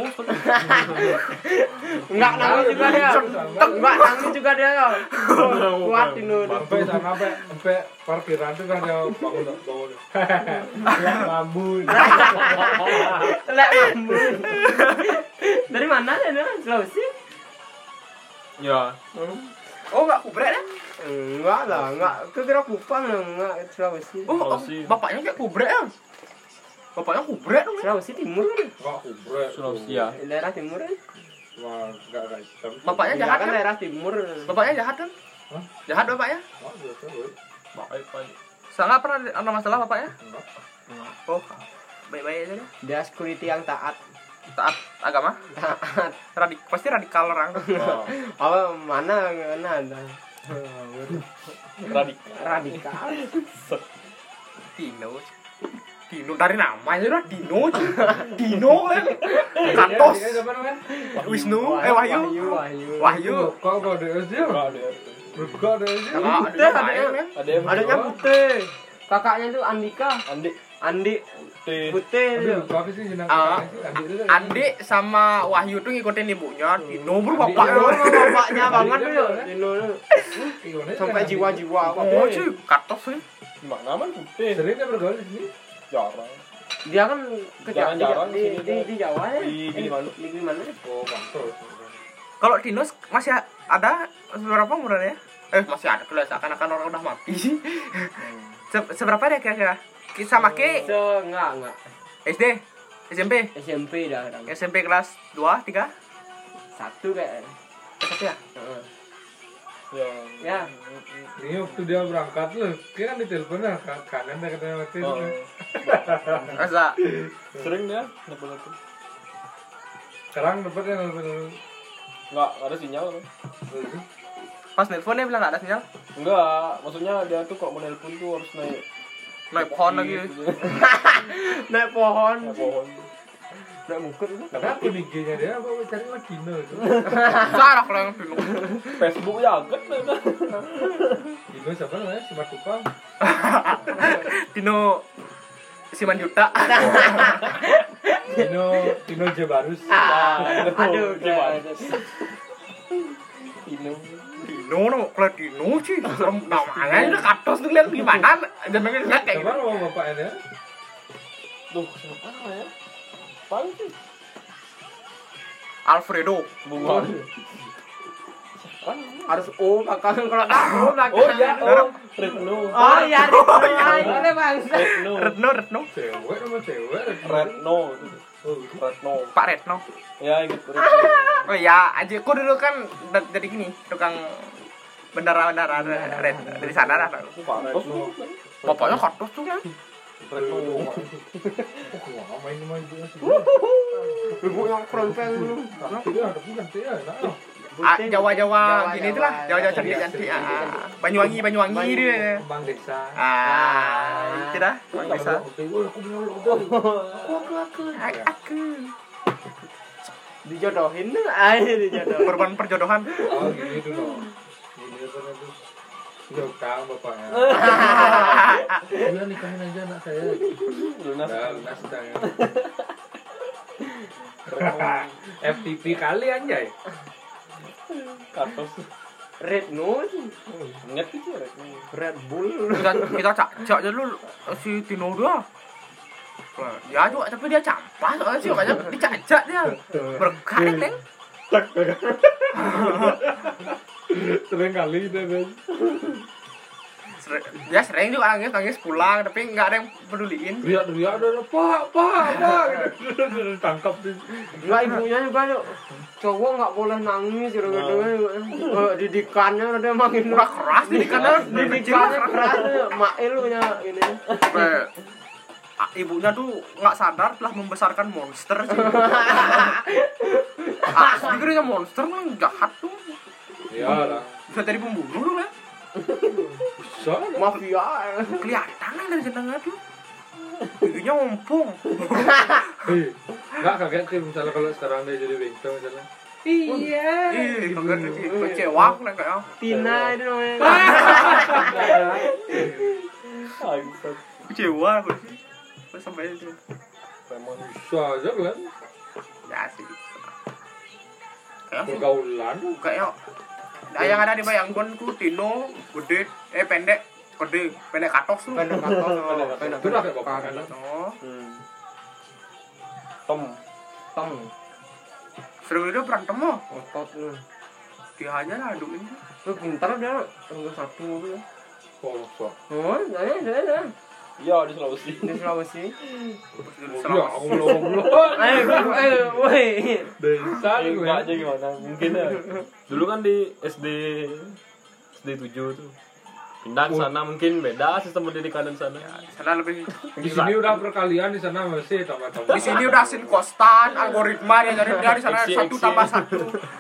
Enggak nangis juga dia. Enggak nangis juga dia. Kuat Dino. Sampai parkiran tuh kan dia bangun. Ngambun. Lek ngambun. Dari mana dia? Sulawesi? Ya. Oh enggak kubrek ya? Enggak lah, enggak. Kira Kupang lah, enggak Sulawesi. Oh, bapaknya kayak kubrek ya? Bapaknya kubrek dong ya? Sulawesi Timur kan? Enggak kubrek. Sulawesi ya. Daerah Timur kan? Wah, enggak hitam. Bapaknya Iya jahat kan kan? daerah Timur. Bapaknya jahat kan? Hah? Jahat bapaknya? Oh, biasa gue. Baik, baik. Sangat pernah ada masalah bapaknya? Enggak. Oh, baik-baik aja deh. Dia security yang taat. Taat agama? Taat. Pasti radikal orang. Oh, Oh, mana ada. Radikal. Dino dari namanya udah Dino cuy. Dino kan. Kantos. Wisnu, Wahyu. Wahyu. Kok ada dia? Kok ada dia? Putih adanya. ada yang Adanya putih. Kakaknya itu Andika. Andi T. putih itu. Apa sih jenang? Andi sama Wahyu tuh ngikutin ibunya. Dino bro Dino bapaknya. bapaknya banget tuh. Dino sampai jiwa-jiwa Oh cuy, Kantos sih. Gimana man putih? Sering dia bergaul di sini. Jarang. dia kan Jarang-jarang di Jawa ya. Di Gilimanuk. Di Gilimanuk. Oh, mantul. Kalau Dino masih ada seberapa umurnya? Masih ada kelas akan orang udah mati. Seberapa dia kira-kira? Sama ke Enggak. SD, SMP, SMP dah. SMP kelas 2, 3, 1 kayak. 1 ya? Ya. Ini waktu dia berangkat loh, dia kan ditelepon lah kanan dia katanya waktu itu. Masa Sering dia nelfon-nelfon. Sekarang dapetnya nelfon. Enggak ada sinyal kan? pas nelfon dia bilang nggak ada sinyal? Enggak, maksudnya dia tuh kok mau nelpon tuh harus Naik pohon lagi. Naik pohon. Naik pohon. Naik bukit itu. Tapi aku di IG-nya dia apa cari lagi Dino itu. Sarah kalau yang Dino. Facebook ya agak lah. Dino siapa namanya? Si Matupang. Dino Simanjuta. Dino Jebarus. Aduh, gimana? Dino no, kalau Dino sih namanya udah katos tuh lihat gimana jenengnya nggak kayak Siapa gitu. nama bapaknya? Tuh, siapa ya? Paling sih Alfredo. Bunga. Harus O belakang kalau tak O belakang. Oh iya, oh. Retno. Oh iya, boleh Bang. Retno. Retno. Cewek sama cewek. Retno. Retno. Pak Retno. Ya, ingat Retno. Oh iya, adikku dulu kan dari gini, tukang bendara-bendara red dari sana lah. Pak Retno. Bapaknya kartus tuh kan. Retno. Wah, main ibunya sih. Ibunya keronceng dulu. Tidak ada bukan saya. Jawa-Jawa gini itulah, Jawa-Jawa cantik-cantik. Banyuwangi dia. Bang desa. Itu dah, Bang Desa. Aku. Dijodohin dijodohin. Korban perjodohan. Oh, gini dulu. Gini tuh. Utang bapaknya. Iya nikahin aja anak saya. Lunas. Lunas utangnya. FTP kali anjay. Kartos. Red Nose, Ingat itu Retno. Red Bull. Kita cak dulu si Tino dia. Ya juga tapi dia campas soalnya sih makanya dicacak dia. Berkaret neng. Sering kali deh. Dia sering juga nangis pulang tapi nggak ada yang peduliin. Riak ada pak gitu. Tangkap di. Enggak ibunya juga yuk. Cowok nggak boleh nangis gitu-gitu. Didikannya udah makin Udah keras didikannya keras. Mail punya ini. Ibunya tuh nggak sadar telah membesarkan monster sih. Dikiranya monster mah jahat tuh. Iyalah. Bisa jadi pembunuh tuh kan. Bisa. Mafia. Kelihatan kan dari jenengnya tuh. Giginya ompong. Nggak kaget sih misalnya kalau sekarang dia jadi bintang misalnya. Iya. Ih, kecewa aku nih kayaknya. Tina itu namanya. Bangsat. Kecewa aku sih. Sampai itu. Bisa aja kan. Ya sih. Kayak Pergaulan. kayak yang ada di bayangkonku Tino gede pendek katos tuh. Pendek katos. Itu lah kayak bapak kan. Oh, Tom. sering dia berantem mah. Otot lu. Dia aja lah aduin. Lu pintar dia. Nomor 1 mobil. Kosong. Oh, saya. Ya di Sulawesi. Di Sulawesi. Ya, aku belum. Ayo, woi. Desa gue. Enggak aja gimana? Mungkin ya. Dulu kan di SD 7 tuh. Pindah ke sana mungkin beda sistem pendidikan di sana. Di sana lebih Di sini udah perkalian, di sana masih tambah-tambah. di sini udah sin kostan algoritma dia jadi dia di sana Eksi. 1 tambah 1.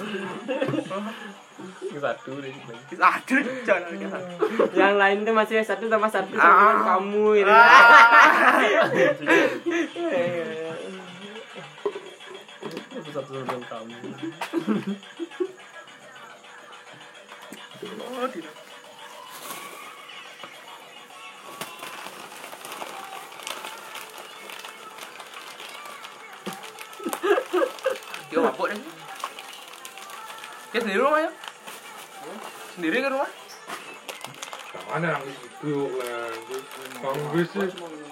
Satu deh. Aduh, jangan. Yang lain tuh masih 1 tambah 1 sama kamu ini. Satu dengan kamu. Oh, tidak. Dia mabuk deh. Dia sendiri rumahnya? Sendiri ke rumah? Mana yang itu kan? Banggus sih.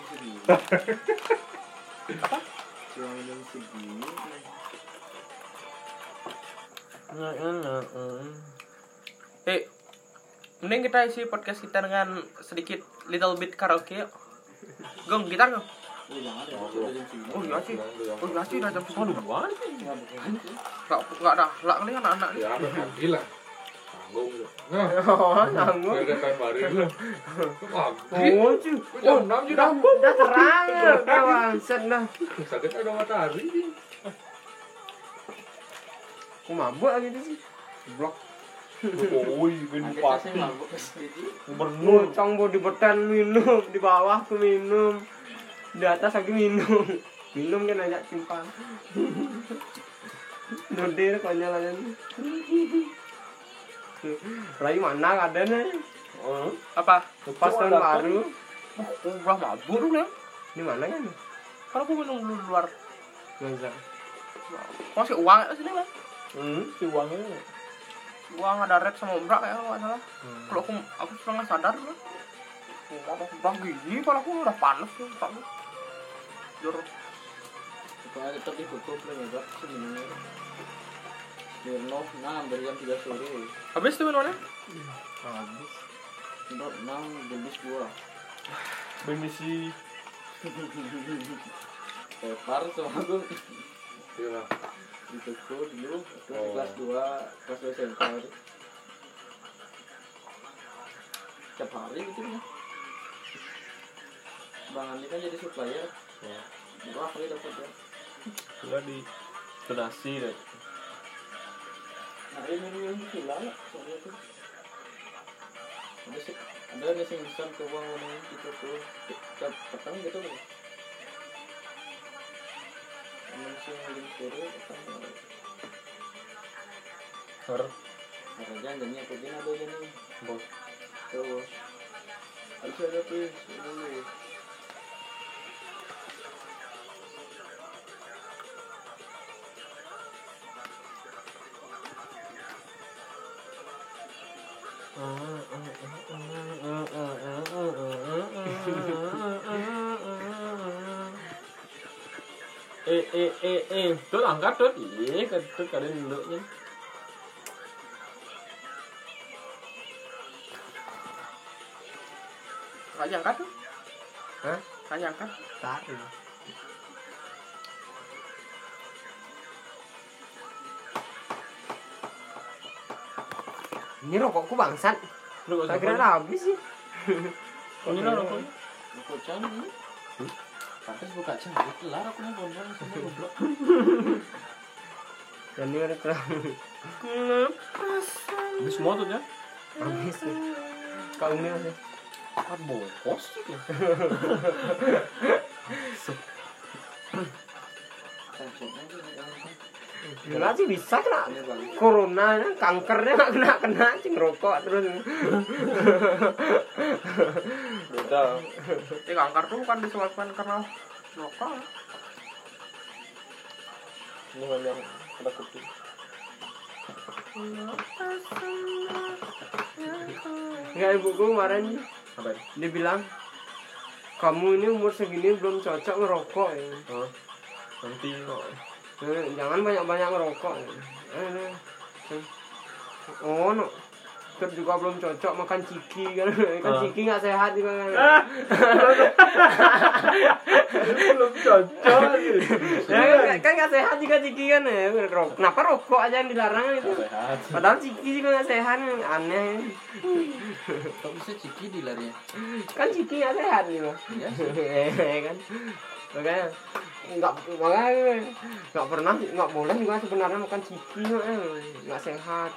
Mending kita isi podcast kita dengan sedikit little bit karaoke yuk. Gong, gitar gong. Oh iya sih, udah jam 10. Enggak ada, lah kali anak-anak. Ya, gila. Tanggung. Nah, Oh, nanggung. udah kan baru lu. Oh, cu. Oh, 6 juga. Udah terang ya, kawan. Set dah. Sakit ada matahari sih. Aku mabuk lagi sih. Blok. Oi, ben Kita pasti. sih mabuk ke situ. Gubernur. Cang di betan minum, di bawah aku minum. Di atas aku minum. Minum kan ajak simpan. Dodir konyol aja. Rai mana ada nih? Apa? Pas tahun baru. Aku udah mabuk dulu ya. Di mana kan? Kalau aku minum dulu di luar. Masa? Masih uang ya sini kan? Si uangnya. Uang ada red sama umbrak kayak kalau nggak salah. Kalau aku setengah sadar loh. Udah gini kalau aku udah panas tuh. Jor. Supaya tetap ditutup lah ya, sebenarnya. Smirnoff 6 dari jam 3 sore. Habis tuh minumannya? Habis. Smirnoff 6 jenis 2. Permisi. Tepar sama aku Iya. di toko dulu kelas 2 SMK itu. Tiap hari gitu ya. Bang Andi kan jadi supplier. Ya. Berapa kali dapat ya? Udah di donasi deh. Nah, ini minum gula lah soalnya tuh. Ada nih sing pesan ke uang ini gitu tuh. Tiap petang gitu loh. Langsung link sore petang. Harga janjinya aku gini ada gini. Bos. Tuh. Harus ada tuh dulu. Tuh angkat tuh. Iya, tuh kalian dulu nya. Nggak diangkat tuh. Hah? Nggak diangkat. Taruh. Ini rokokku bangsat. Lu Tak kira habis sih. Ini lah rokoknya. Aku canggih. Pantes buka cari kelar aku mau gondrong sama goblok. Dan ini ada terang. Habis semua tuh ya. Habis. Kau ini sih. Kan bongkos sih. Cancoknya tuh Enggak sih bisa kena corona, kankernya nggak kena cing rokok terus. Beda. Kanker tuh kan disebabkan karena rokok. Ini yang ada kuping. Enggak, ibuku kemarin Apa ini? dia bilang kamu ini umur segini belum cocok ngerokok ya. Oh. Nanti kok. Jangan banyak-banyak ngerokok. Oh, no. Terus juga belum cocok makan ciki kan. Kan ciki nggak sehat juga kan. Belum cocok. Ya, kan nggak sehat juga ciki kan ya. Kenapa rokok aja yang dilarang itu? Sehat. Padahal ciki juga nggak sehat, aneh. kok bisa ciki dilari ya? Kan ciki nggak sehat nih loh. Iya. Kan. Makanya nggak boleh juga sebenarnya makan ciki nggak sehat.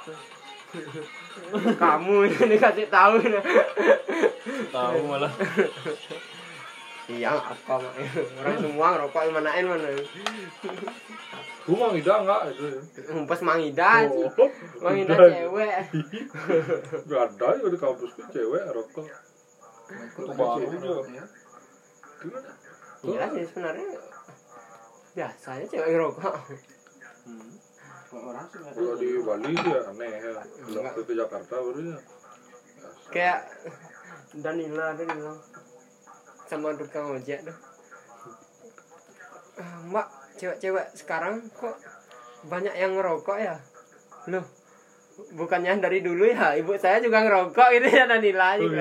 Kamu ini dikasih tahu ini. Tahu malah. Iya apa mak orang semua ngerokok manain mana. Gua mau ngida enggak itu. Pas mangida sih. Mangida cewek. Enggak ada ya di kampusku cewek rokok. Baru juga. Gimana? Iya sih sebenarnya biasanya cewek ngerokok. Kok orang sih nggak Kalau di Bali sih ya aneh ya. Waktu ke Jakarta barunya. Kayak Danila sama tukang ojek tuh. Mbak, cewek-cewek sekarang kok banyak yang ngerokok ya? Loh, bukannya dari dulu ya? Ibu saya juga ngerokok gitu ya Danila juga.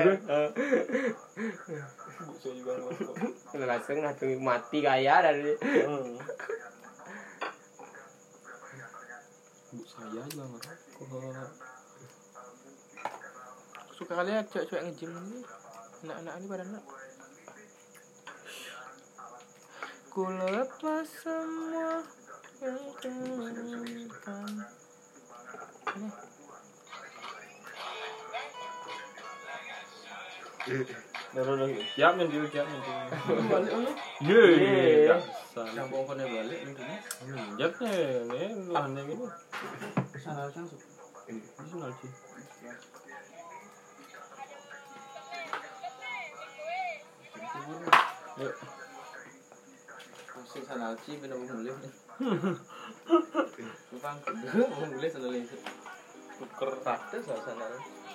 Saya juga ngerokok. Langsung mati kaya dari. Saya juga ngerokok. Suka kali ya cewek-cewek nge-gym ini. Anak-anak ini pada nak. Ku lepas semua yang terlupakan. Udah, siap nih dia, siap nih. balik lu? Iya. Sambung kone balik ini. Jatnya nih lahannya gini. Sana langsung. Ini sih. Yuk. Masih sana sih benar mulai. Bang, mulai sana lagi. Tuker rata sana.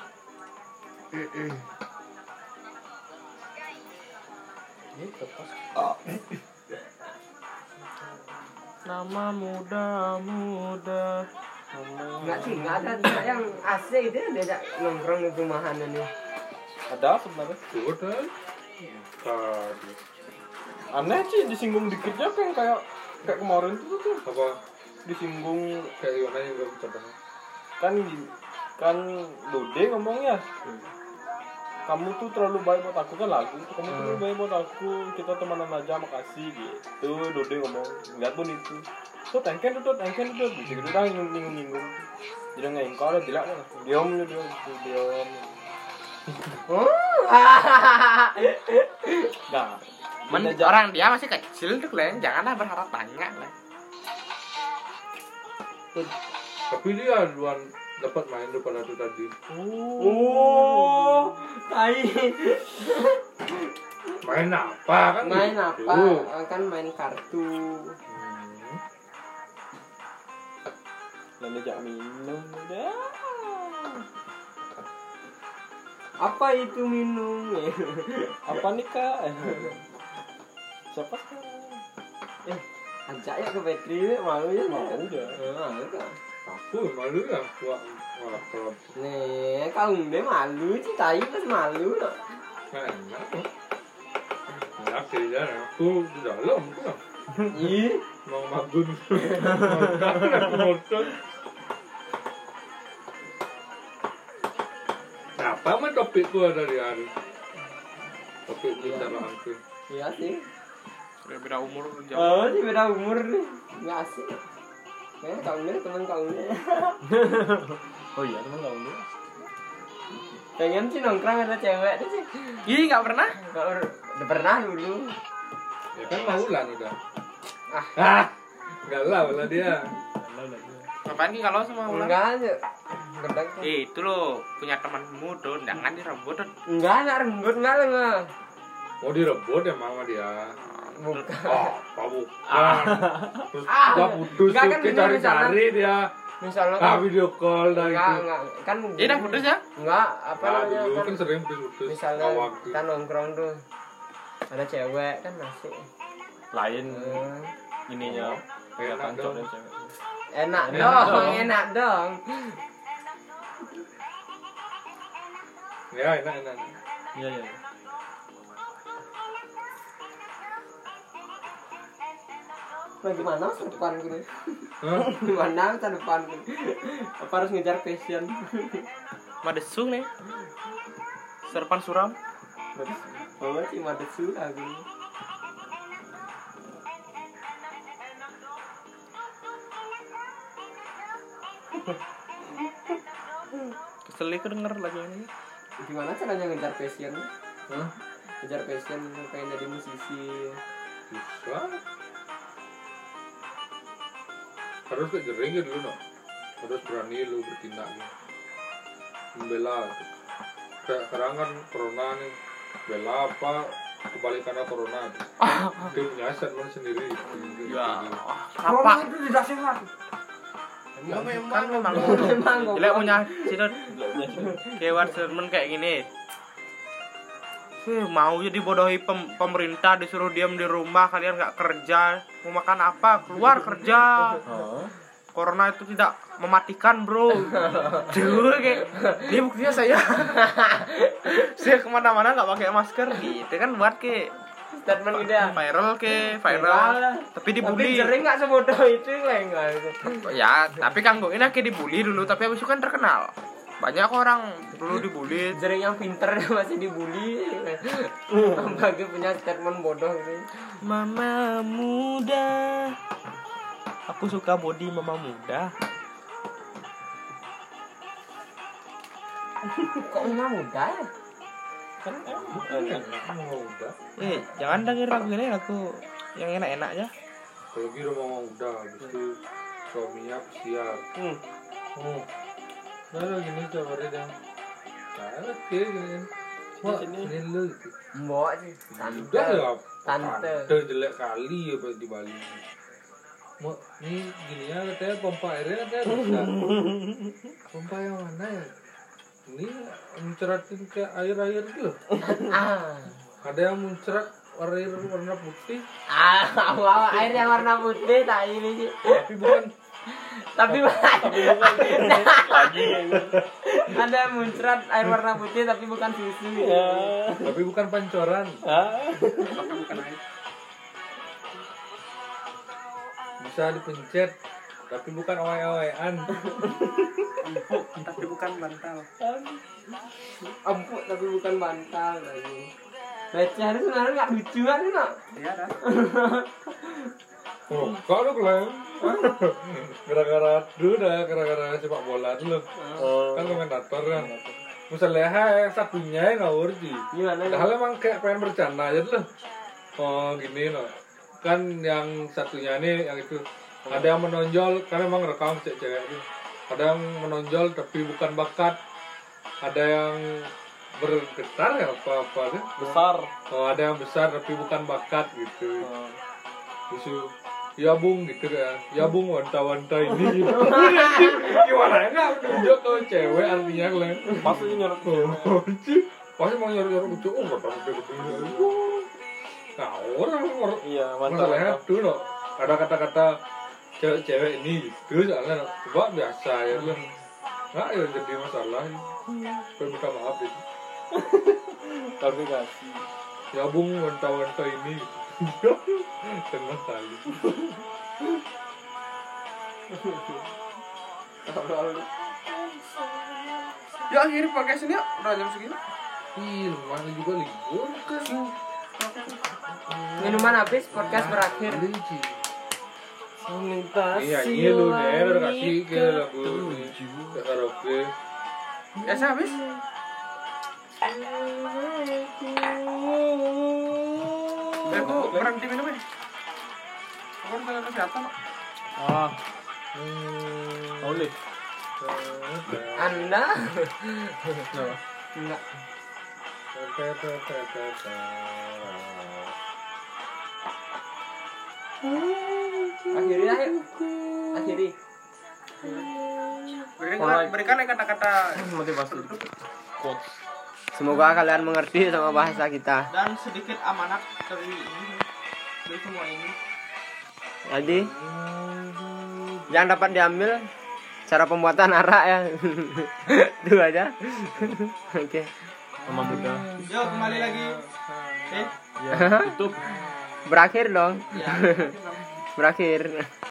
Ini tepas. Nama muda Enggak sih, enggak ada yang AC gitu ya, diajak nongkrong di rumahan ini. Ada sebenarnya. Udah. Tadi. Aneh sih disinggung dikitnya kayak kemarin tuh Apa? disinggung Kayak gimana yang gue contohnya? kan Dode ngomongnya. Kamu tuh terlalu baik buat aku kan lagu. Kamu tuh terlalu baik buat aku. Kita temenan aja, makasih gitu. Dode ngomong. Lihat pun itu. Tuh tengken tuh. Bisa gitu dah nyinggung. Jadi ngengkol ada dilak kan. Diam. Nah, Orang dia masih kecil tuh, Len. Janganlah berharap banyak, Len. Tapi dia duluan dapat main daripada itu tadi. Oh, tai. Main apa kan? Main gitu. apa? Kan main kartu. lalu jak minum dah. Apa itu minum? Apa nih kak? Siapa sekarang? Ajak ya ke Petri, malu ya. Mau udah. Malu kan? Aku malu ya, wah kalau Nih, kau udah malu sih, tai pas malu nak. enak. Enak sih ya, aku di dalam tuh. Ih, Mau magun. Aku motor. Apa mah topikku ada di hari? Topik bicaraanku. iya sih. Udah beda umur jauh. Oh, sih beda umur nih. Nggak asik. Kayaknya kau ini teman kau ini. Oh iya teman kamu dulu. Pengen sih nongkrong ada cewek tuh sih. Ih, nggak pernah. Udah pernah dulu. Ya kan maulan udah. Enggak lah dia. Ngapain Ki kalau sama ulang? Enggak aja. Gedek. Itu loh, punya temanmu tuh, jangan direbut tuh. Enggak, enggak rembut enggak lah enggak. Mau direbut ya mama dia. Bukan. Apa bukan? Terus dia putus Enggak, tuh kan dia bener, cari dia. Misalnya Video call dah enggak, itu. enggak. Kan Iya dah putus ya? Enggak, apa Nah, namanya dulu kan. kan sering putus. Misalnya Awak tuh. kita nongkrong tuh. Ada cewek kan masih. Lain Hmm. ininya kayak Enak kancok dong. dan cewek. Enak Enak dong, dong. enak dong. Ya enak. Iya. Bagaimana masa depan gue? Hah? Gimana masa depan gue? Apa harus ngejar passion? Madesung nih. Serpan suram. Oh, sih madesu aku. Kesel ke denger lagi ini. Gimana caranya ngejar passion? Hah? Ngejar passion pengen jadi musisi. Bisa. Harus kejering gitu dulu no. Harus berani lu bertindak nih. Membela gitu. Kayak sekarang kan corona nih. Bela apa kebalikannya corona tuh. Dia punya statement sendiri. Ya. Corona Apa? itu tidak sehat. Kan memang. Memang kok. Jelek punya sidot. Kewan sermon kayak gini. Mau jadi bodohi pemerintah, disuruh diam di rumah, kalian nggak kerja, mau makan apa, keluar kerja. Corona itu tidak mematikan, bro. Dulu kayak ini buktinya saya kemana-mana nggak pakai masker gitu kan, buat ke Statement udah. viral, tapi dibully. Tapi sering nggak sebodoh itu enggak itu. Ya, tapi Kang Goin akhirnya dibully dulu, tapi habis itu kan terkenal. Banyak orang dulu dibully. Sering yang pinter masih dibully. Bagi punya statement bodoh gitu. Mama muda. Aku suka body mama muda. Kok emang muda ya? Kan Udah. Jangan denger lagu ini, lagu yang enak-enak ya. Kalau gitu mau udah, habis itu suaminya pesiar. Nah gini coba dia. Nah kayak gini. Wah ini lu gitu. Mbok sih. Udah ya. Tante. Jelek kali ya pas di Bali. Mau ini gini ya katanya pompa airnya katanya rusak. Pompa yang mana ya? Ini menceratin ke air-air gitu loh. Ada yang mencerat air warna putih. Air yang warna putih tak ini sih. Tapi bukan Tapi Tapi bukan lagi gitu. ada yang muncrat air warna putih tapi bukan susu. Ya. Tapi bukan pancoran. Ah. Tapi bukan air. Bisa dipencet tapi bukan oe-oean. Empuk tapi bukan bantal. Empuk tapi bukan bantal lagi. Receh itu sebenarnya nggak lucu kan itu nak? Iya dah. Oh, kok lu Glenn? Gara-gara gara-gara sepak bola dulu. Kan komentator kan. Misalnya satunya yang ngawur sih. Gimana? Padahal emang kayak pengen bercanda aja dulu. Oh gini no. Kan yang satunya nih yang itu ada yang menonjol kan emang rekam cewek itu. Ada yang menonjol tapi bukan bakat. Ada yang bergetar ya apa-apa kan. Besar. Oh ada yang besar tapi bukan bakat gitu. Terus ya bung gitu kan. Ya bung wanta-wanta ini gitu. Gimana ya nggak menunjuk ke cewek artinya kalian. Pasti nyorot. Pasti mau nyuruh-nyuruh lucu. Oh nggak tahu gitu. Nah orang Iya, mantap. masalahnya tuh no. Ada kata-kata cewek-cewek ini gitu soalnya no. Coba biasa ya lu. Nggak ya jadi masalah. Saya minta maaf itu. Tapi kasih. Ya bung wanta-wanta ini. Tengah kali. Ya akhirnya podcast ini ya udah jam segini. Ih, mana juga libur kan. Minuman habis, podcast berakhir. Linci. Melintasi. Iya, ini lu nih udah kasih ke lagu ke karaoke. Ya saya habis. Aku berhenti minum ya. Aku kan jaga kesehatan kok. Ah. Boleh. Anda? Enggak. Akhiri ayo. Akhiri. Berikan kata-kata Motivasi. Quotes. Semoga kalian mengerti sama bahasa kita. dan sedikit amanat dari ini, dari semua ini. Jadi yang dapat diambil cara pembuatan arak ya. Itu aja. Oke. Sama muda. Yuk kembali lagi. Ya, tutup. Berakhir dong. Ya. Berakhir.